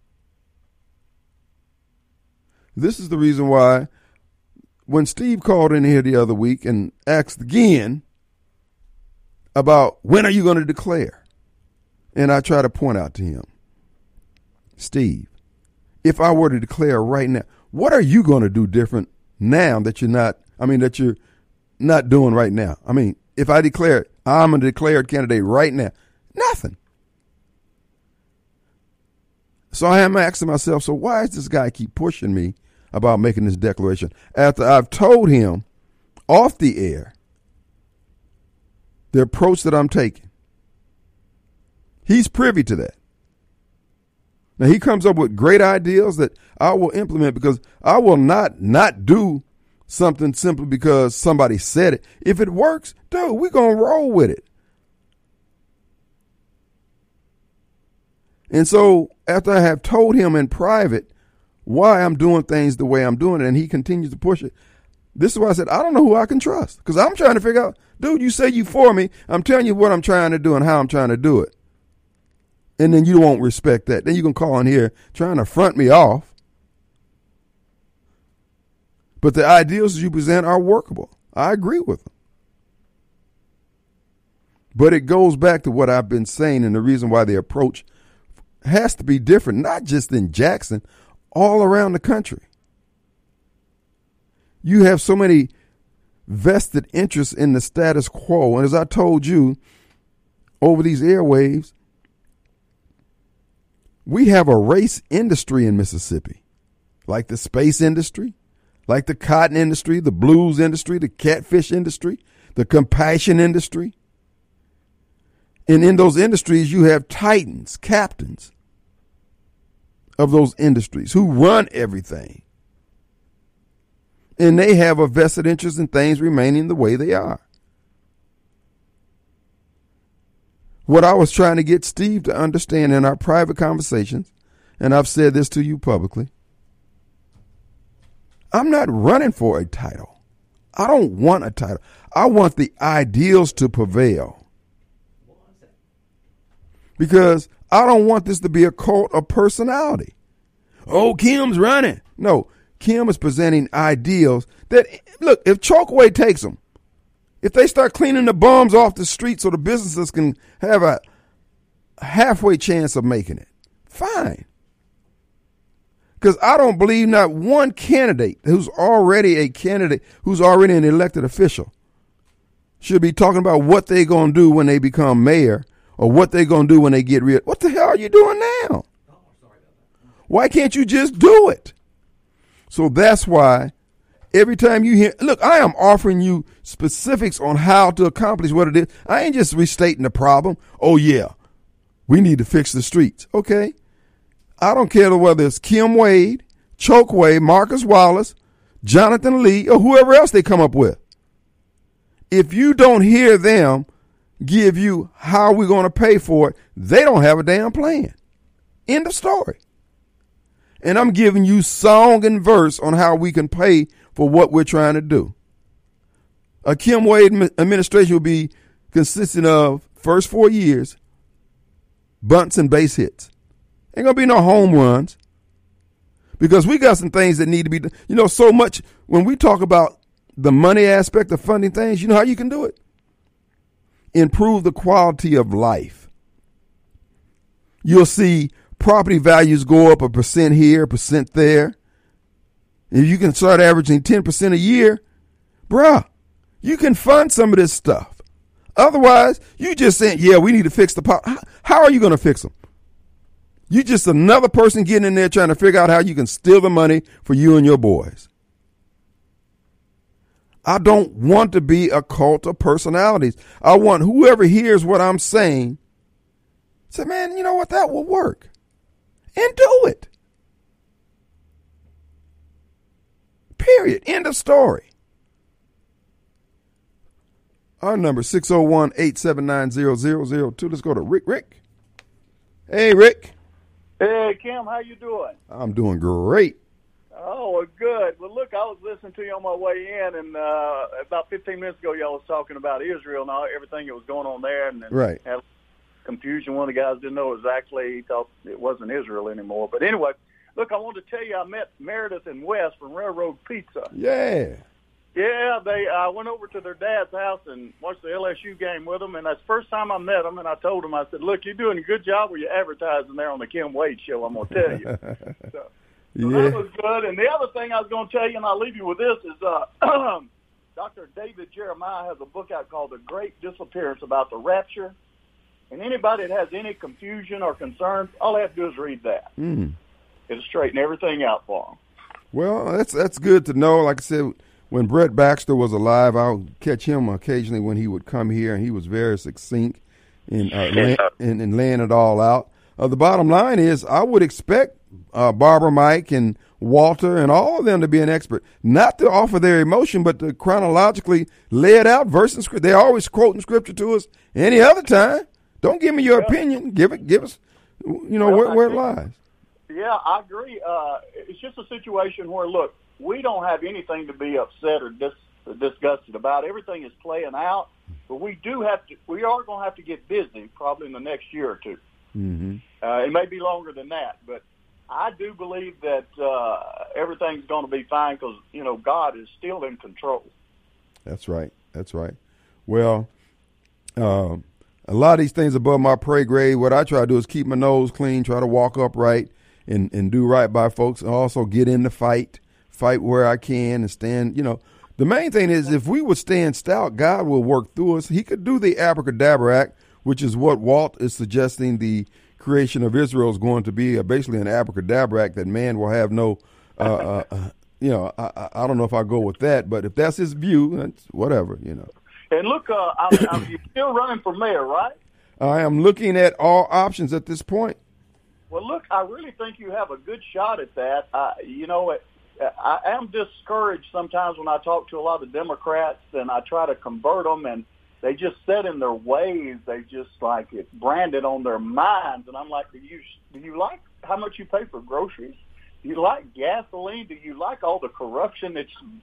This is the reason why when Steve called in here the other week and asked again about when are you going to declare, and I try to point out to him, Steve, if I were to declare right now, what are you going to do different now that you're not doing right now? I mean, if I declare I'm a declared candidate right now, nothing. So I am asking myself, so why does this guy keep pushing me about making this declaration after I've told him off the air the approach that I'm taking? He's privy to that. Now, he comes up with great ideas that I will implement because I will not do something simply because somebody said it. If it works, dude, we're going to roll with it. And so after I have told him in private why I'm doing things the way I'm doing it, and he continues to push it, this is why I said, I don't know who I can trust, because I'm trying to figure out, dude, you say you for me. I'm telling you what I'm trying to do and how I'm trying to do it. And then you won't respect that. Then you can call in here trying to front me off. But the ideals you present are workable. I agree with them. But it goes back to what I've been saying and the reason why the approach has to be different, not just in Jackson, all around the country. You have so many vested interests in the status quo. And as I told you over these airwaves, we have a race industry in Mississippi, like the space industry, like the cotton industry, the blues industry, the catfish industry, the compassion industry. And in those industries, you have titans, captains of those industries who run everything. And they have a vested interest in things remaining the way they are. What I was trying to get Steve to understand in our private conversations, and I've said this to you publicly, I'm not running for a title. I don't want a title. I want the ideals to prevail. Because I don't want this to be a cult of personality. Oh, Kim's running. No, Kim is presenting ideals that, look, if Chokeway takes them, if they start cleaning the bums off the street so the businesses can have a halfway chance of making it, fine. Because I don't believe not one candidate who's already an elected official should be talking about what they're going to do when they become mayor or what they're going to do when they get rid. What the hell are you doing now? Why can't you just do it? So that's why every time you hear, look, I am offering you specifics on how to accomplish what it is. I ain't just restating the problem. Oh, yeah, we need to fix the streets. Okay. I don't care whether it's Kim Wade, Chokeway, Marcus Wallace, Jonathan Lee, or whoever else they come up with. If you don't hear them give you how we're going to pay for it, they don't have a damn plan. End of story. And I'm giving you song and verse on how we can pay for what we're trying to do. A Kim Wade administration will be consisting of first 4 years, bunts and base hits. Ain't going to be no home runs because we got some things that need to be done. You know, so much when we talk about the money aspect of funding things, you know how you can do it? Improve the quality of life. You'll see property values go up 1% here, 1% there. If you can start averaging 10% a year, bruh, you can fund some of this stuff. Otherwise, you just saying, yeah, we need to fix the pot. How are you going to fix them? You just another person getting in there trying to figure out how you can steal the money for you and your boys. I don't want to be a cult of personalities. I want whoever hears what I'm saying, say, man, you know what, that will work. And do it. Period. End of story. Our number 601-879-0002. Let's go to Rick. Rick. Hey, Rick. Hey, Kim, how you doing? I'm doing great. Oh, well, good. Well, look, I was listening to you on my way in, and about 15 minutes ago, y'all was talking about Israel and everything that was going on there. And right. confusion. One of the guys didn't know exactly. He thought it wasn't Israel anymore. But anyway, look, I wanted to tell you I met Meredith and Wes from Railroad Pizza. Yeah. Yeah, I went over to their dad's house and watched the LSU game with them, and that's the first time I met them, and I told them, I said, look, you're doing a good job with your advertising there on the Kim Wade show, I'm going to tell you. So that was good. And the other thing I was going to tell you, and I'll leave you with this, is Dr. David Jeremiah has a book out called The Great Disappearance about the rapture. And anybody that has any confusion or concerns, all they have to do is read that. It'll straighten everything out for them. Well, that's good to know. Like I said, when Brett Baxter was alive, I'll catch him occasionally when he would come here, and he was very succinct in laying it all out. The bottom line is I would expect Barbara Mike and Walter and all of them to be an expert, not to offer their emotion, but to chronologically lay it out, verse and script. They're always quoting scripture to us any other time. Don't give me your opinion. Give us, where it lies. Yeah, I agree. It's just a situation where, look, we don't have anything to be upset or disgusted about. Everything is playing out, but we are going to have to get busy probably in the next year or two. Mm-hmm. It may be longer than that, but I do believe that everything's going to be fine because, God is still in control. That's right. Well, a lot of these things above my pay grade, what I try to do is keep my nose clean, try to walk upright and do right by folks, and also get in the fight where I can and stand. The main thing is if we would stand stout, God will work through us. He could do the abracadabra act, which is what Walt is suggesting the creation of Israel is going to be, basically an abracadabra act that man will have no, I don't know if I go with that, but if that's his view, that's whatever, And look, you're still running for mayor, right? I am looking at all options at this point. Well, look, I really think you have a good shot at that. I am discouraged sometimes when I talk to a lot of Democrats and I try to convert them, and they just set in their ways. They just like it's branded on their minds. And I'm like, do you like how much you pay for groceries? Do you like gasoline? Do you like all the corruption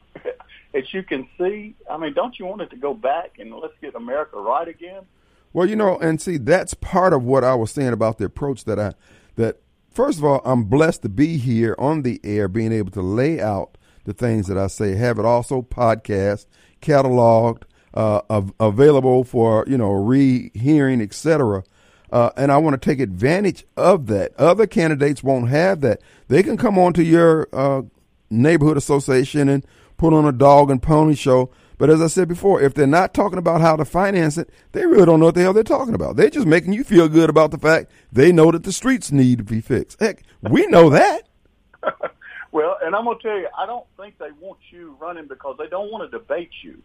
that you can see? I mean, don't you want it to go back and let's get America right again? Well, and see, that's part of what I was saying about the approach that first of all, I'm blessed to be here on the air, being able to lay out the things that I say, have it also podcast, cataloged, available for, rehearing, etc. And I want to take advantage of that. Other candidates won't have that. They can come on to your neighborhood association and put on a dog and pony show. But as I said before, if they're not talking about how to finance it, they really don't know what the hell they're talking about. They're just making you feel good about the fact they know that the streets need to be fixed. Heck, we know that. Well, and I'm going to tell you, I don't think they want you running because they don't want to debate you.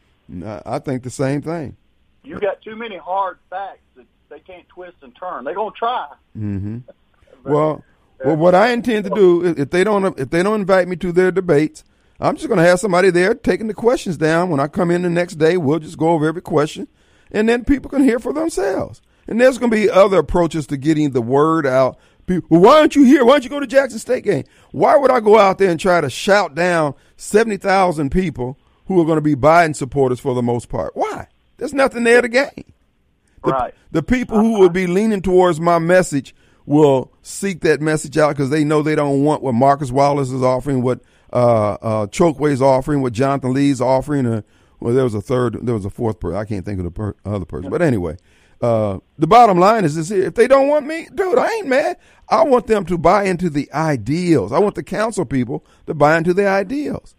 I think the same thing. You got too many hard facts that they can't twist and turn. They're going to try. Mm-hmm. Well, what I intend to do is if they don't invite me to their debates, I'm just going to have somebody there taking the questions down. When I come in the next day, we'll just go over every question, and then people can hear for themselves. And there's going to be other approaches to getting the word out. People, well, why aren't you here? Why don't you go to Jackson State game? Why would I go out there and try to shout down 70,000 people who are going to be Biden supporters for the most part? Why? There's nothing there to gain. Right. The people who would be leaning towards my message will seek that message out because they know they don't want what Marcus Wallace is offering, what Chokeway's offering, what Jonathan Lee's offering. There was a fourth person. I can't think of the other person. But anyway, the bottom line is this here. If they don't want me, dude, I ain't mad. I want them to buy into the ideals. I want the council people to buy into the ideals.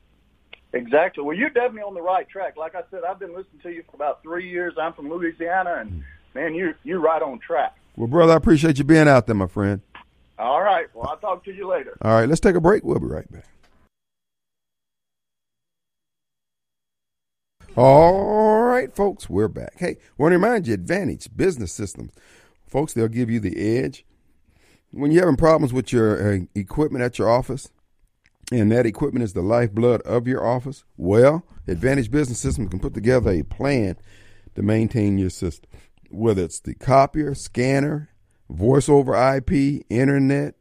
Exactly. Well, you're definitely on the right track. Like I said, I've been listening to you for about 3 years. I'm from Louisiana, and, man, you're right on track. Well, brother, I appreciate you being out there, my friend. All right. Well, I'll talk to you later. All right. Let's take a break. We'll be right back. All right, folks, we're back. Hey, I want to remind you, Advantage Business Systems. Folks, they'll give you the edge. When you're having problems with your equipment at your office, and that equipment is the lifeblood of your office, well, Advantage Business Systems can put together a plan to maintain your system, whether it's the copier, scanner, voice over IP, internet,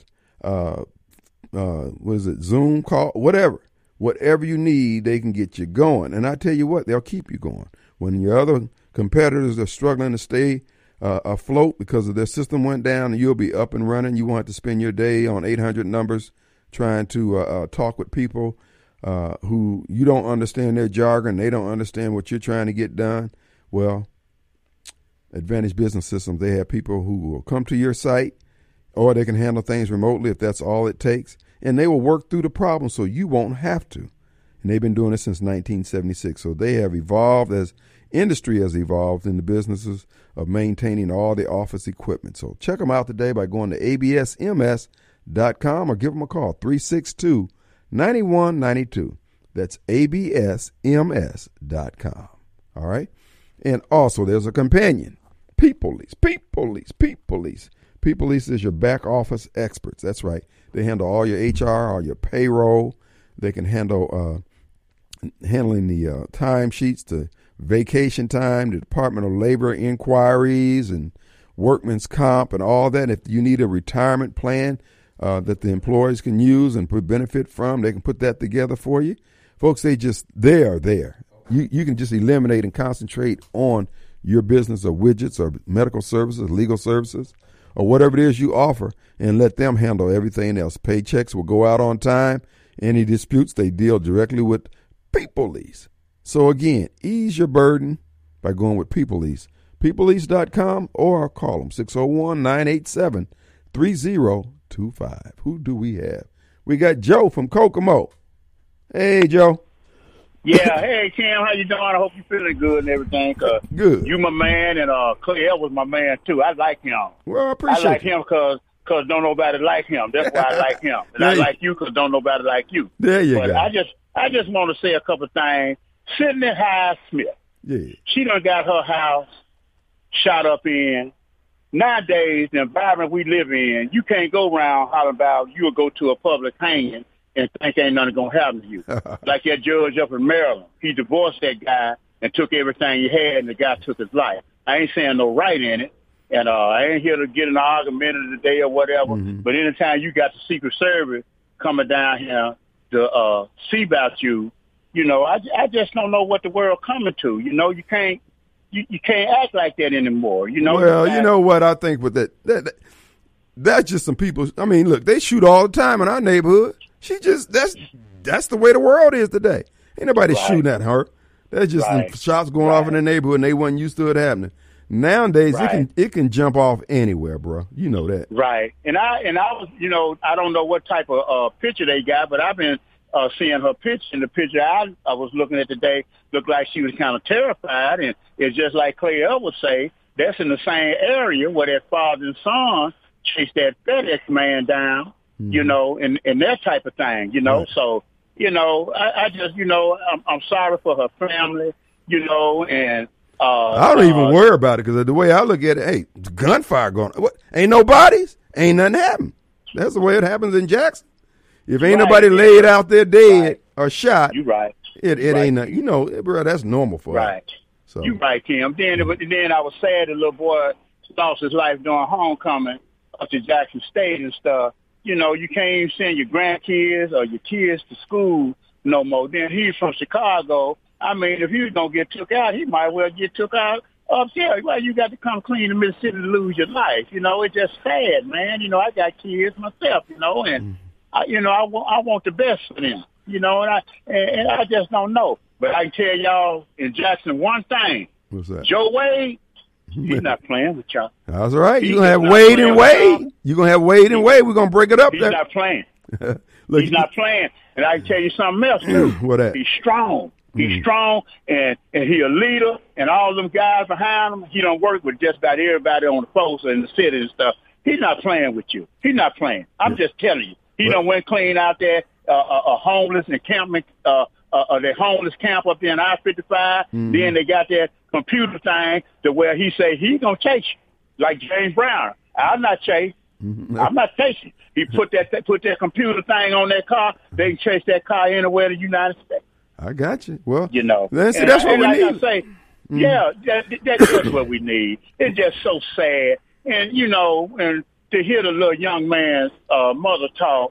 Zoom call, whatever. Whatever you need, they can get you going. And I tell you what, they'll keep you going. When your other competitors are struggling to stay afloat because of their system went down, and you'll be up and running. You won't have to spend your day on 800 numbers trying to talk with people who you don't understand their jargon. They don't understand what you're trying to get done. Well, Advantage Business Systems, they have people who will come to your site, or they can handle things remotely if that's all it takes, and they will work through the problem so you won't have to. And they've been doing it since 1976. So they have evolved as industry has evolved in the businesses of maintaining all the office equipment. So check them out today by going to absms.com or give them a call, 362-9192. That's absms.com. All right? And also there's a companion, People Lease. People Lease is your back office experts. That's right. They handle all your HR, all your payroll. They can handle handling the time sheets, the vacation time, the Department of Labor inquiries, and workman's comp and all that. If you need a retirement plan that the employees can use and benefit from, they can put that together for you. Folks, they are there. You can just eliminate and concentrate on your business of widgets or medical services, legal services, or whatever it is you offer, and let them handle everything else. Paychecks will go out on time. Any disputes, they deal directly with People Lease. So again, ease your burden by going with People Lease. PeopleLease.com, or call them 601-987-3025. Who do we have? We got Joe from Kokomo. Hey, Joe. Yeah, hey, Kim, how you doing? I hope you're feeling good and everything. Good. You my man, and Clay was my man, too. I like him. Well, I appreciate I like him because don't nobody like him. That's why I like him. And I like you because don't nobody like you. There you go. I just want to say a couple of things. Sydney Highsmith. Yeah. She done got her house shot up in. Nowadays, the environment we live in, you can't go around hollering about you'll go to a public hanging and think ain't nothing going to happen to you. Like that judge up in Maryland. He divorced that guy and took everything he had, and the guy took his life. I ain't saying no right in it, and I ain't here to get an argument of the day or whatever, but anytime you got the Secret Service coming down here to see about you, you know, I just don't know what the world coming to. You know, you can't act like that anymore. You know. Well, you know what I think with that's just some people. I mean, look, they shoot all the time in our neighborhood. That's the way the world is today. Ain't nobody shooting at her. That's just some shots going off in the neighborhood, and they wasn't used to it happening. Nowadays, it can jump off anywhere, bro. You know that. Right. And I was, you know, I don't know what type of picture they got, but I've been seeing her picture. And the picture I was looking at today looked like she was kind of terrified. And it's just like Clay would say, that's in the same area where that father and son chased that FedEx man down, you know, and that type of thing, you know. Right. So, you know, I just, you know, I'm sorry for her family, you know, and I don't even worry about it because the way I look at it, hey, gunfire going on. What? Ain't no bodies, ain't nothing happened. That's the way it happens in Jackson. If ain't nobody laid out there dead or shot, you right. It ain't nothing. You know, bro, that's normal for us. So. You right, Kim. Then I was sad the little boy lost his life during homecoming up to Jackson State and stuff. You know, you can't even send your grandkids or your kids to school no more. Then he's from Chicago. I mean, if he was going to get took out, he might well get took out up there. Well, you got to come clean to Mississippi to lose your life. You know, it's just sad, man. You know, I got kids myself, you know, and, I want the best for them, you know, and I just don't know. But I can tell y'all in Jackson one thing. What's that? Joe Wade, he's not playing with y'all. That's right. You're going to have Wade and Wade. You're going to have Wade and Wade. We're going to break it up he's there. He's not playing. He's not playing. And I can tell you something else, too. What that? He's strong. He's strong, and he a leader, and all them guys behind him, he don't work with just about everybody on the force in the city and stuff. He's not playing with you. He's not playing. I'm just telling you. He done went clean out there, a homeless encampment, the homeless camp up there in I-55. Then they got that computer thing to where he say he gonna chase you, like James Brown. I'm not chasing. I'm not chasing. He put that computer thing on that car. They can chase that car anywhere in the United States. I got you. Well, you know, that's what we need. I say, yeah, that's what we need. It's just so sad, and you know, and to hear the little young man's mother talk,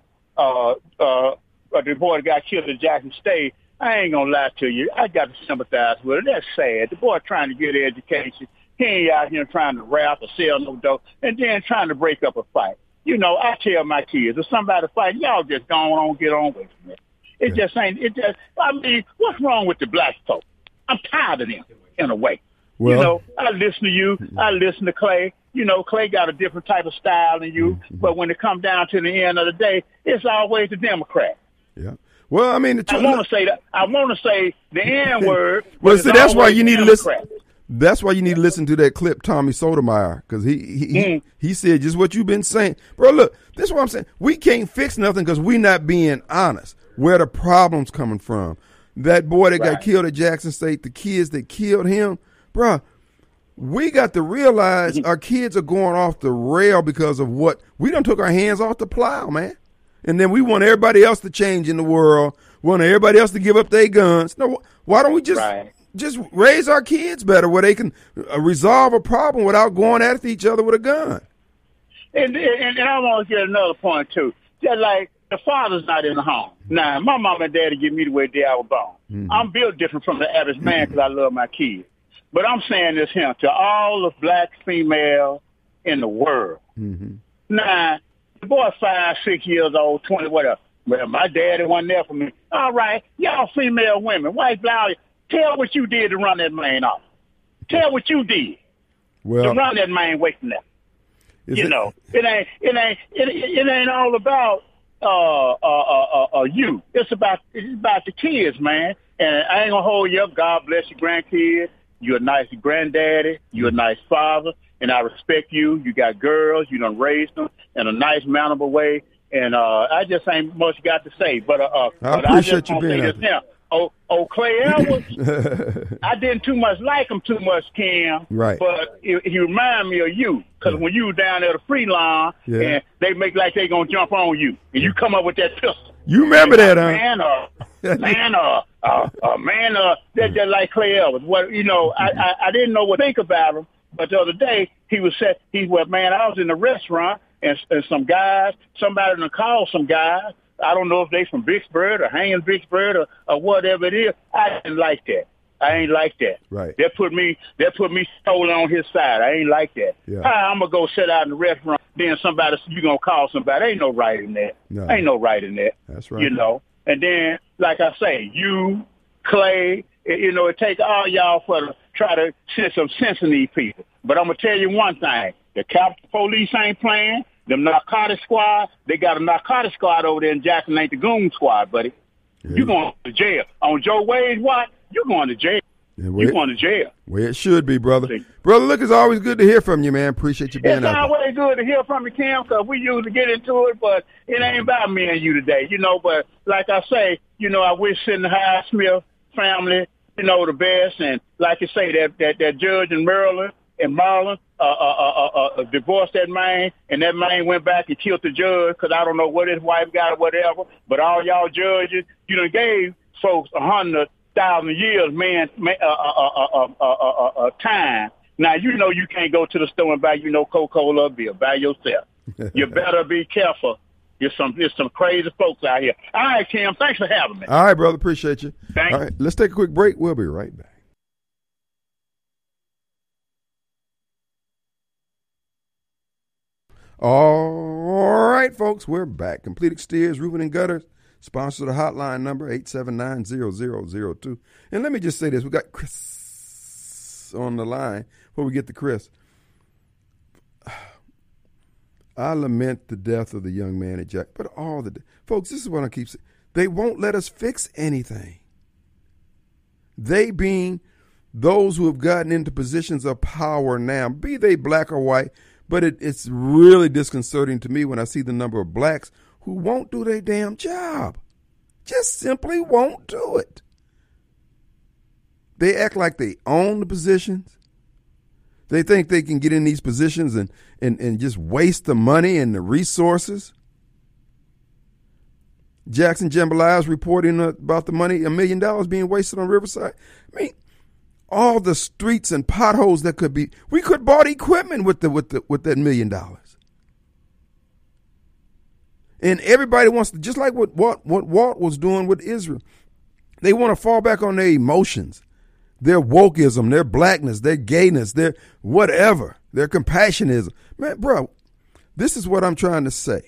the boy that got killed at Jackson State, I ain't gonna lie to you. I got to sympathize with it. That's sad. The boy trying to get an education. He ain't out here trying to rap or sell no dope and then trying to break up a fight. You know, I tell my kids, if somebody fight, y'all just go on, get on with it. It just ain't, I mean, what's wrong with the black folk? I'm tired of them, in a way. Well, you know, I listen to you. I listen to Clay. You know, Clay got a different type of style than you. But when it comes down to the end of the day, it's always the Democrat. Yeah. Well, I mean, I want to say that. I want to say the N word. Well, see, that's why you need to listen. That's why you need to listen to that clip, Tommy Sotomayor, because he said just what you've been saying, bro. Look, this is what I'm saying. We can't fix nothing because we not being honest. Where the problems coming from? That boy that got killed at Jackson State, the kids that killed him, bro. We got to realize our kids are going off the rail because of what we done took our hands off the plow, man. And then we want everybody else to change in the world. We want everybody else to give up their guns. No, why don't we just raise our kids better where they can resolve a problem without going at each other with a gun? And I want to get another point, too. Just like the father's not in the home. Now, my mom and daddy give me the way they I was born. I'm built different from the average man because I love my kids. But I'm saying this here to all the black females in the world. Now, the boy 5, 6 years old, 20, whatever. Well, my daddy wasn't there for me. All right, y'all female women, white blouse, tell what you did to run that man off. Tell what you did to run that man away from that. You know, it ain't all about you. It's about the kids, man. And I ain't gonna hold you up. God bless your grandkids. You're a nice granddaddy. You're a nice father, and I respect you. You got girls. You done raised them in a nice, manageable way. And I just ain't much got to say. But I appreciate you being here. Clay Edwards, I didn't too much like him too much, Cam. Right. But he remind me of you. Because when you were down there at the free line, and they make like they going to jump on you, and you come up with that pistol. You remember that, huh? That's just like Clay Edwards. What, you know, I didn't know what to think about him. But the other day, I was in the restaurant, and some guys, somebody done called some guys. I don't know if they from Vicksburg or hanging Vicksburg or whatever it is. I didn't like that. I ain't like that. Right. That put me totally on his side. I ain't like that. Yeah. How I'm gonna go sit out in the restaurant, then you gonna call somebody. Ain't no right in that. No. Ain't no right in that. That's right. You know. And then, like I say, you, Clay, you know, it takes all y'all to try to send some sense in these people. But I'm gonna tell you one thing: the Capitol Police ain't playing. Them narcotic squad, they got a narcotic squad over there in Jackson, ain't the goon squad, buddy. Yeah. You going to jail. On Joe Wade's watch, you going to jail. Yeah, you going to jail. Well, it should be, brother. See? Brother, look, it's always good to hear from you, man. Appreciate you being out there. It's always good to hear from you, Cam, because we usually get into it, but it ain't about me and you today, you know. But like I say, you know, I wish Sidney Highsmith family, you know, the best. And like you say, that judge in Maryland, divorced that man, and that man went back and killed the judge because I don't know what his wife got or whatever. But all y'all judges, you done gave folks 100,000 years, time. Now you know you can't go to the store and buy Coca-Cola or beer by yourself. You better be careful. There's some crazy folks out here. All right, Kim, thanks for having me. All right, brother, appreciate you. Thanks. All right, let's take a quick break. We'll be right back. All right, folks, we're back. Complete Exteriors, Roofing and Gutters, sponsor the hotline number 879-0002. And let me just say this. We got Chris on the line before we get to Chris. I lament the death of the young man at Jack, but folks, this is what I keep saying. They won't let us fix anything. They being those who have gotten into positions of power now, be they black or white. But it's really disconcerting to me when I see the number of blacks who won't do their damn job. Just simply won't do it. They act like they own the positions. They think they can get in these positions and just waste the money and the resources. Jackson Jambalaya is reporting about the money, $1 million being wasted on Riverside. I mean, all the streets and potholes that could be, we could have bought equipment with that $1 million. And everybody wants to, just like what Walt was doing with Israel, they want to fall back on their emotions. their wokeism, their blackness, their gayness, their whatever, their compassionism. Man, bro, this is what I'm trying to say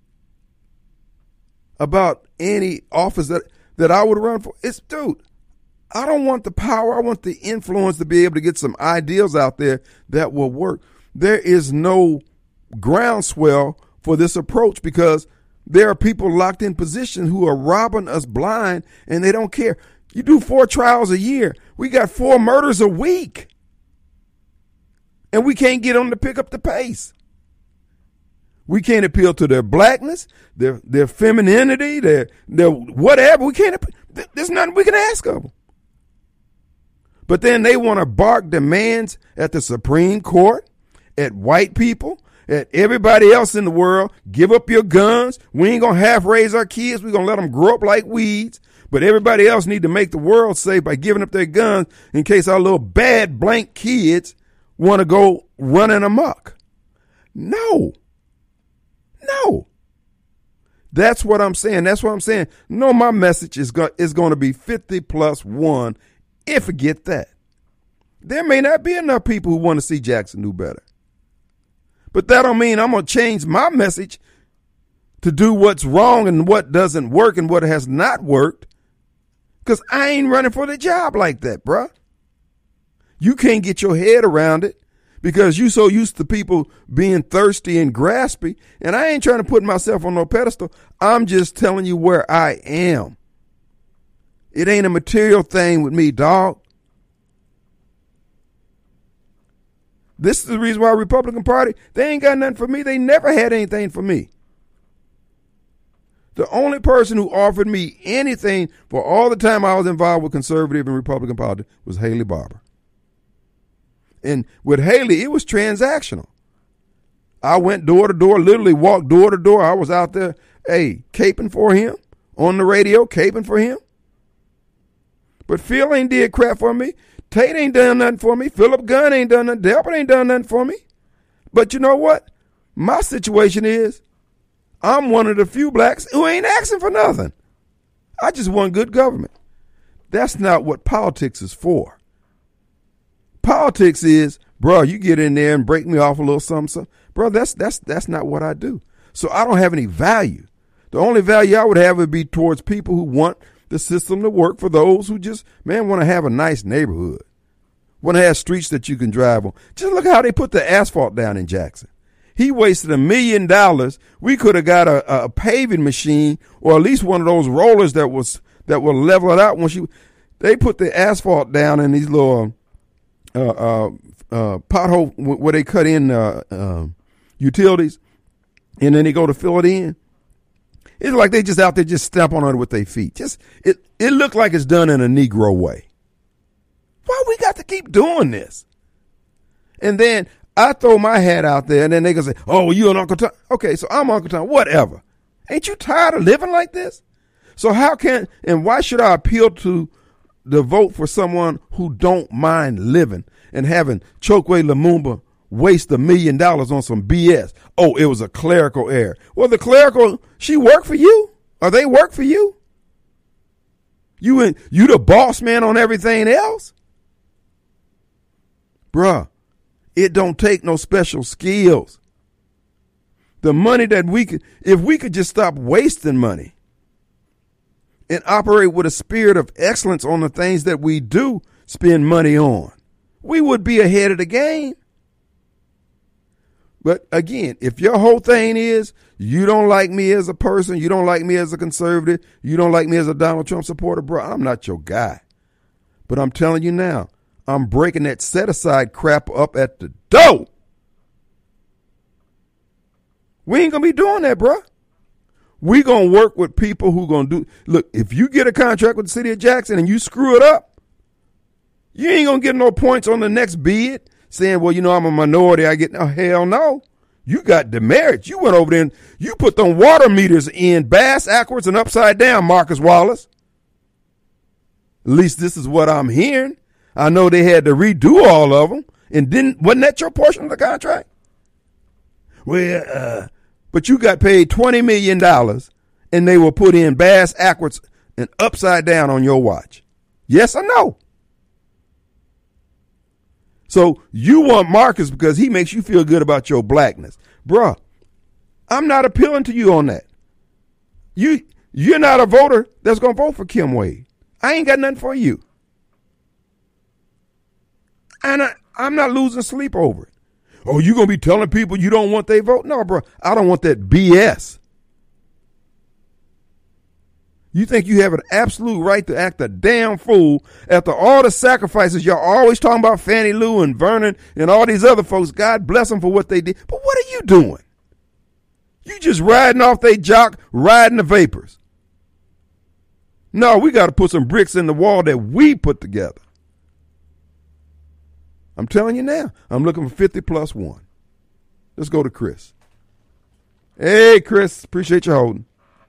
about any office that I would run for. It's, dude, I don't want the power. I want the influence to be able to get some ideals out there that will work. There is no groundswell for this approach because there are people locked in position who are robbing us blind and they don't care. You do 4 trials a year. We got 4 murders a week. And we can't get them to pick up the pace. We can't appeal to their blackness, their femininity, their whatever. We can't. There's nothing we can ask of them. But then they want to bark demands at the Supreme Court, at white people, at everybody else in the world. Give up your guns. We ain't going to half raise our kids. We're going to let them grow up like weeds. But everybody else need to make the world safe by giving up their guns in case our little bad blank kids want to go running amok. No. That's what I'm saying. No, my message is going to be 50+1 if we get that. There may not be enough people who want to see Jackson do better. But that don't mean I'm going to change my message to do what's wrong and what doesn't work and what has not worked. Because I ain't running for the job like that, bruh. You can't get your head around it because you so used to people being thirsty and graspy. And I ain't trying to put myself on no pedestal. I'm just telling you where I am. It ain't a material thing with me, dog. This is the reason why Republican Party, they ain't got nothing for me. They never had anything for me. The only person who offered me anything for all the time I was involved with conservative and Republican politics was Haley Barbour. And with Haley, it was transactional. I went door to door, literally walked door to door. I was out there, caping for him, on the radio, caping for him. But Phil ain't did crap for me. Tate ain't done nothing for me. Philip Gunn ain't done nothing. Delbert ain't done nothing for me. But you know what? My situation is I'm one of the few blacks who ain't asking for nothing. I just want good government. That's not what politics is for. Politics is, bro, you get in there and break me off a little something. Bro, that's not what I do. So I don't have any value. The only value I would have would be towards people who want the system to work for those who just, want to have a nice neighborhood. Want to have streets that you can drive on. Just look how they put the asphalt down in Jackson. He wasted $1 million. We could have got a paving machine or at least one of those rollers that will level it out. They put the asphalt down in these little pothole where they cut in utilities, and then they go to fill it in. It's like they just out there just stamp on it with their feet. It looked like it's done in a Negro way. Why we got to keep doing this? And then I throw my hat out there, and then they can say, "Oh, you and Uncle Tom." Okay, so I'm Uncle Tom. Whatever. Ain't you tired of living like this? So why should I appeal to the vote for someone who don't mind living and having Chokwe Lumumba waste $1 million on some BS? Oh, it was a clerical error. Well, the clerical, she worked for you, or they work for you. You the boss man on everything else, bruh. It don't take no special skills. The money that if we could just stop wasting money and operate with a spirit of excellence on the things that we do spend money on, we would be ahead of the game. But again, if your whole thing is you don't like me as a person, you don't like me as a conservative, you don't like me as a Donald Trump supporter, bro, I'm not your guy. But I'm telling you now, I'm breaking that set-aside crap up at the door. We ain't going to be doing that, bro. We going to work with people who going to do. Look, if you get a contract with the city of Jackson and you screw it up, you ain't going to get no points on the next bid saying, well, I'm a minority. I get no. Hell no. You got demerits. You went over there and you put them water meters in bass, backwards, and upside down, Marcus Wallace. At least this is what I'm hearing. I know they had to redo all of them, and wasn't that your portion of the contract? Well, but you got paid $20 million, and they were put in bass, backwards, and upside down on your watch. Yes or no? So you want Marcus because he makes you feel good about your blackness. Bruh, I'm not appealing to you on that. You're not a voter that's going to vote for Kim Wade. I ain't got nothing for you. And I'm not losing sleep over it. Oh, you going to be telling people you don't want their vote? No, bro, I don't want that BS. You think you have an absolute right to act a damn fool after all the sacrifices y'all always talking about Fannie Lou and Vernon and all these other folks. God bless them for what they did. But what are you doing? You just riding off they jock, riding the vapors. No, we got to put some bricks in the wall that we put together. I'm telling you now, I'm looking for 50 plus one. Let's go to Chris. Hey, Chris, appreciate you holding.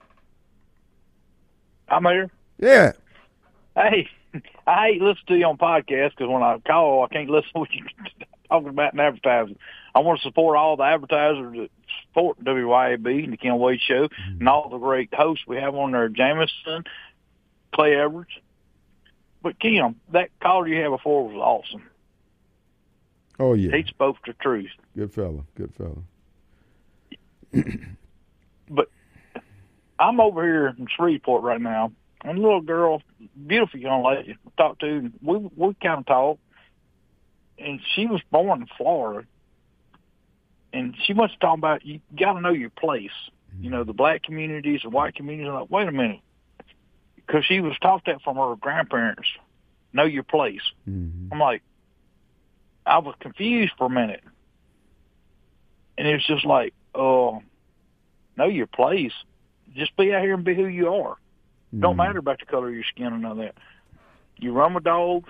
I'm here. Yeah. Hey, I hate listening to you on podcasts because when I call, I can't listen to what you're talking about in advertising. I want to support all the advertisers that support WYAB and the Kim Wade Show and all the great hosts we have on there, Jameson, Clay Edwards. But, Kim, that caller you had before was awesome. Oh, yeah. He spoke the truth. Good fella. But I'm over here in Shreveport right now, and a little girl, beautiful young lady, I talked to, and we kind of talked, and she was born in Florida, and she wants to talk about you got to know your place, you know, the black communities, the white communities. I'm like, wait a minute, because she was taught that from her grandparents, know your place. Mm-hmm. I'm like, I was confused for a minute, and it was just like, know your place. Just be out here and be who you are. Don't matter about the color of your skin or none of that. You run with dogs,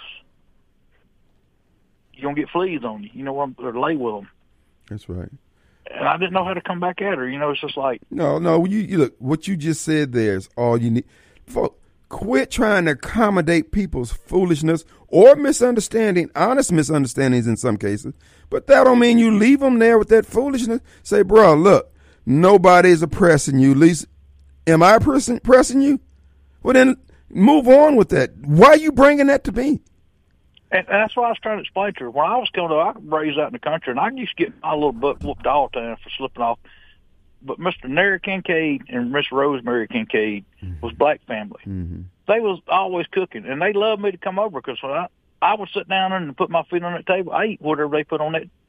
you're going to get fleas on you. You know what? Or lay with them. That's right. And I didn't know how to come back at her. You know, it's just like. No, you look, what you just said there is all you need. Folks, quit trying to accommodate people's foolishness or misunderstanding, honest misunderstandings in some cases. But that don't mean you leave them there with that foolishness. Say, bro, look, nobody's oppressing you. At least, am I pressing you? Well, then move on with that. Why are you bringing that to me? And that's what I was trying to explain to her. When I was coming up, I was raised out in the country, and I used to get my little butt whooped all the time for slipping off. But Mr. Nary Kincaid and Miss Rosemary Kincaid was black family. Mm-hmm. They was always cooking, and they loved me to come over because when I would sit down and put my feet on that table, I eat whatever they put on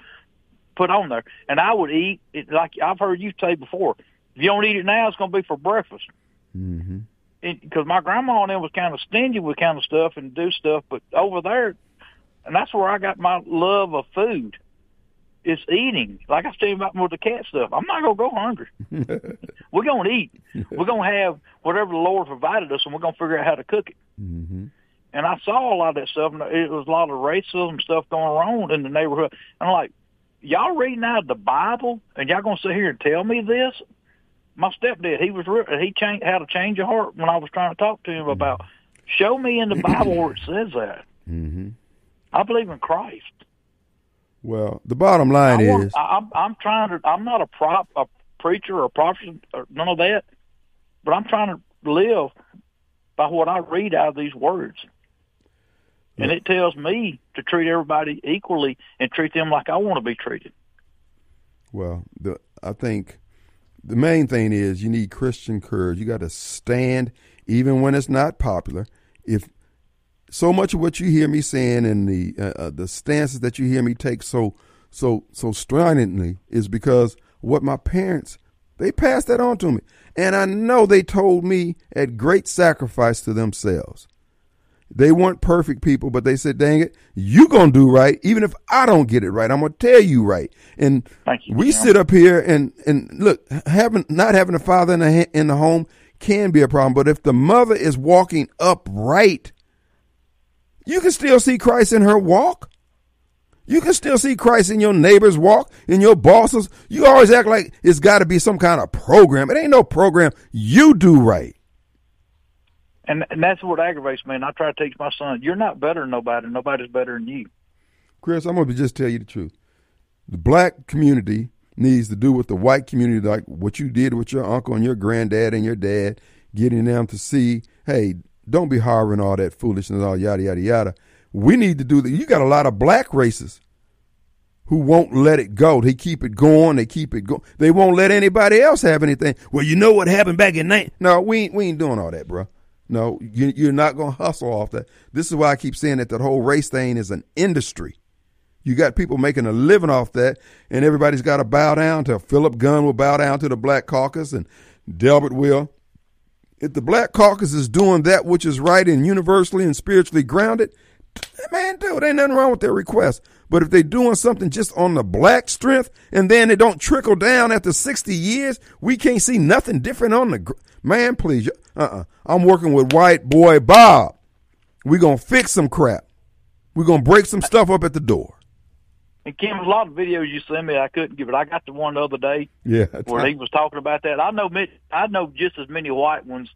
there. And I would eat it like I've heard you say before. If you don't eat it now, it's going to be for breakfast. Mm-hmm. Because my grandma and them was kind of stingy with kind of stuff and do stuff, but over there, and that's where I got my love of food. It's eating. Like I was telling you about with the cat stuff. I'm not going to go hungry. We're going to eat. We're going to have whatever the Lord provided us, and we're going to figure out how to cook it. Mm-hmm. And I saw a lot of that stuff, and it was a lot of racism stuff going on in the neighborhood. And I'm like, y'all reading out of the Bible, and y'all going to sit here and tell me this? My stepdad, he had a change of heart when I was trying to talk to him about, show me in the Bible where it says that. Mm-hmm. I believe in Christ. Well, the bottom line is, I'm not a preacher or a prophet or none of that, but I'm trying to live by what I read out of these words. And it tells me to treat everybody equally and treat them like I want to be treated. Well, I think the main thing is you need Christian courage. You got to stand even when it's not popular. If so much of what you hear me saying and the stances that you hear me take so stridently is because what my parents, they passed that on to me. And I know they told me at great sacrifice to themselves. They weren't perfect people, but they said, dang it, you going to do right. Even if I don't get it right, I'm going to tell you right. And we sit up here and look, not having a father in the home can be a problem. But if the mother is walking upright, you can still see Christ in her walk. You can still see Christ in your neighbor's walk, in your bosses. You always act like it's got to be some kind of program. It ain't no program. You do right. And that's what aggravates me. And I try to teach my son, you're not better than nobody. Nobody's better than you. Chris, I'm going to just tell you the truth. The black community needs to do with the white community, like what you did with your uncle and your granddad and your dad, getting them to see, hey, don't be harboring all that foolishness, all yada, yada, yada. We need to do that. You got a lot of black racists who won't let it go. They keep it going. They keep it going. They won't let anybody else have anything. Well, you know what happened back in 19. No, we ain't doing all that, bro. No, you're not going to hustle off that. This is why I keep saying that whole race thing is an industry. You got people making a living off that, and everybody's got to bow down to Philip Gunn will bow down to the Black Caucus, and Delbert will. If the Black Caucus is doing that which is right and universally and spiritually grounded, man, dude, ain't nothing wrong with their request. But if they're doing something just on the black strength and then it don't trickle down after 60 years, we can't see nothing different on the man, please. I'm working with white boy Bob. We're going to fix some crap. We're going to break some stuff up at the door. And Kim, a lot of videos you sent me, I couldn't give it. I got the one the other day where he was talking about that. I know just as many white ones.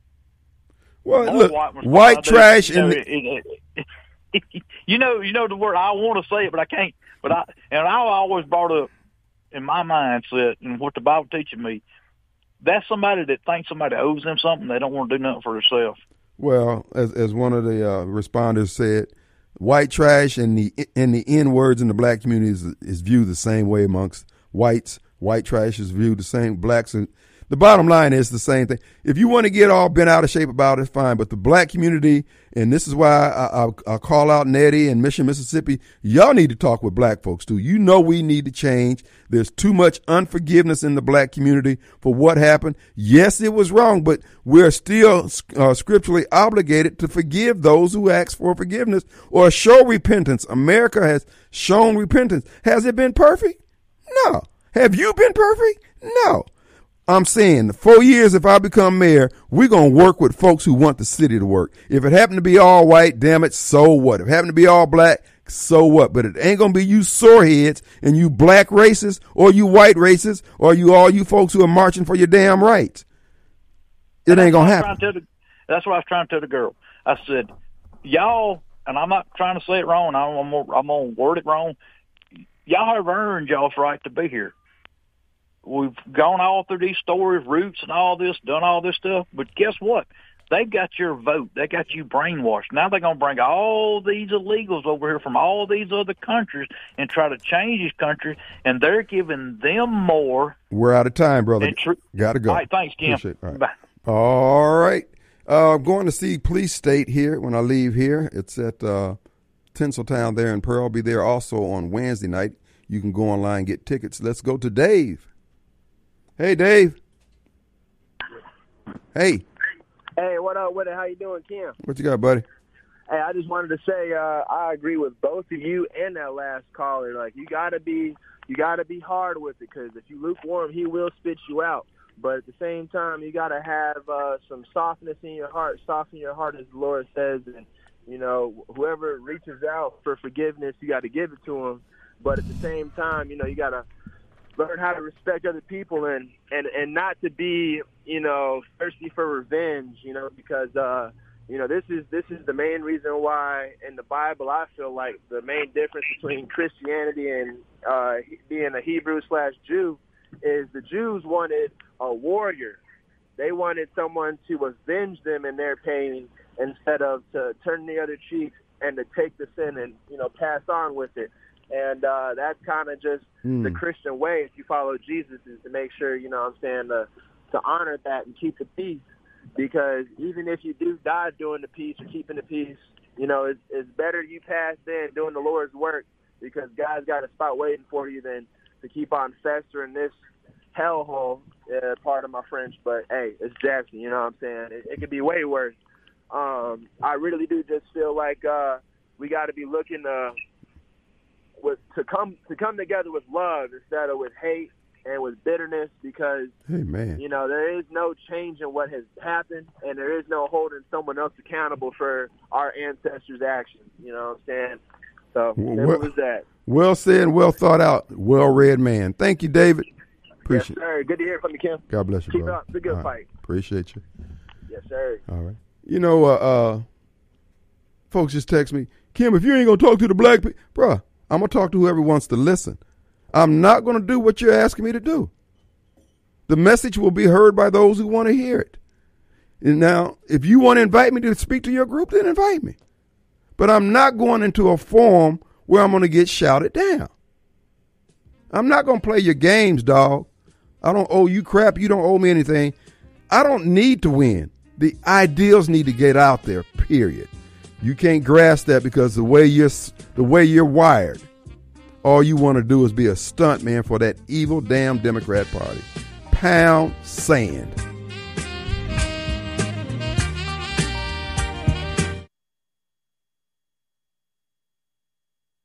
Well, look, white trash and you know the word. I want to say it, but I can't. But I always brought up in my mindset and what the Bible teaches me. That's somebody that thinks somebody owes them something. They don't want to do nothing for themselves. Well, as one of the responders said, white trash and the N words in the black community is viewed the same way amongst whites. White trash is viewed the same. Blacks are. The bottom line is the same thing. If you want to get all bent out of shape about it, fine. But the black community, and this is why I call out Nettie and Mission, Mississippi, y'all need to talk with black folks too. You know we need to change. There's too much unforgiveness in the black community for what happened. Yes, it was wrong, but we're still scripturally obligated to forgive those who ask for forgiveness or show repentance. America has shown repentance. Has it been perfect? No. Have you been perfect? No. I'm saying 4 years, if I become mayor, we're going to work with folks who want the city to work. If it happened to be all white, damn it, so what? If it happened to be all black, so what? But it ain't going to be you soreheads and you black racists or you white racists or all you folks who are marching for your damn rights. It ain't going to happen. That's what I was trying to tell the girl. I said, y'all, and I'm not trying to say it wrong, I'm going to word it wrong. Y'all have earned y'all's right to be here. We've gone all through these stories, roots and all this, done all this stuff. But guess what? They got your vote. They got you brainwashed. Now they're going to bring all these illegals over here from all these other countries and try to change this country, and they're giving them more. We're out of time, brother. Got to go. All right, thanks, Kim. All right. Bye. All right. I'm going to see Police State here when I leave here. It's at Tinseltown there in Pearl. I'll be there also on Wednesday night. You can go online and get tickets. Let's go to Dave. Hey, Dave. Hey. Hey, what up with it? How you doing, Kim? What you got, buddy? Hey, I just wanted to say I agree with both of you and that last caller. Like, you gotta be hard with it, because if you lukewarm, he will spit you out. But at the same time, you gotta have some softness in your heart. Soften your heart, as the Lord says. And you know, whoever reaches out for forgiveness, you got to give it to them. But at the same time, you know, you gotta learn how to respect other people and not to be, you know, thirsty for revenge, you know, because, you know, this is the main reason why in the Bible I feel like the main difference between Christianity and being a Hebrew/Jew is the Jews wanted a warrior. They wanted someone to avenge them in their pain instead of to turn the other cheek and to take the sin and, you know, pass on with it. And that's kind of just the Christian way, if you follow Jesus, is to make sure, you know what I'm saying, to honor that and keep the peace. Because even if you do die doing the peace or keeping the peace, you know, it's better you pass than doing the Lord's work, because God's got a spot waiting for you than to keep on festering this hellhole, part of my French. But, hey, it's Jackson, you know what I'm saying? It could be way worse. I really do just feel like we got to be looking to come together with love instead of with hate and with bitterness, because you know, there is no change in what has happened, and there is no holding someone else accountable for our ancestors' actions. You know what I'm saying? So what was that? Well said, well thought out, well-read man. Thank you, David. Appreciate it. Yes, sir. Good to hear from you, Kim. God bless you, Keep brother. up. It's a good fight. Appreciate you. Yes, sir. All right. You know, folks just text me, Kim, if you ain't going to talk to the black people, bruh, I'm going to talk to whoever wants to listen. I'm not going to do what you're asking me to do. The message will be heard by those who want to hear it. And now, if you want to invite me to speak to your group, then invite me. But I'm not going into a forum where I'm going to get shouted down. I'm not going to play your games, dog. I don't owe you crap. You don't owe me anything. I don't need to win. The ideals need to get out there, period. You can't grasp that because the way you're wired, all you want to do is be a stunt man for that evil damn Democrat Party. Pound sand.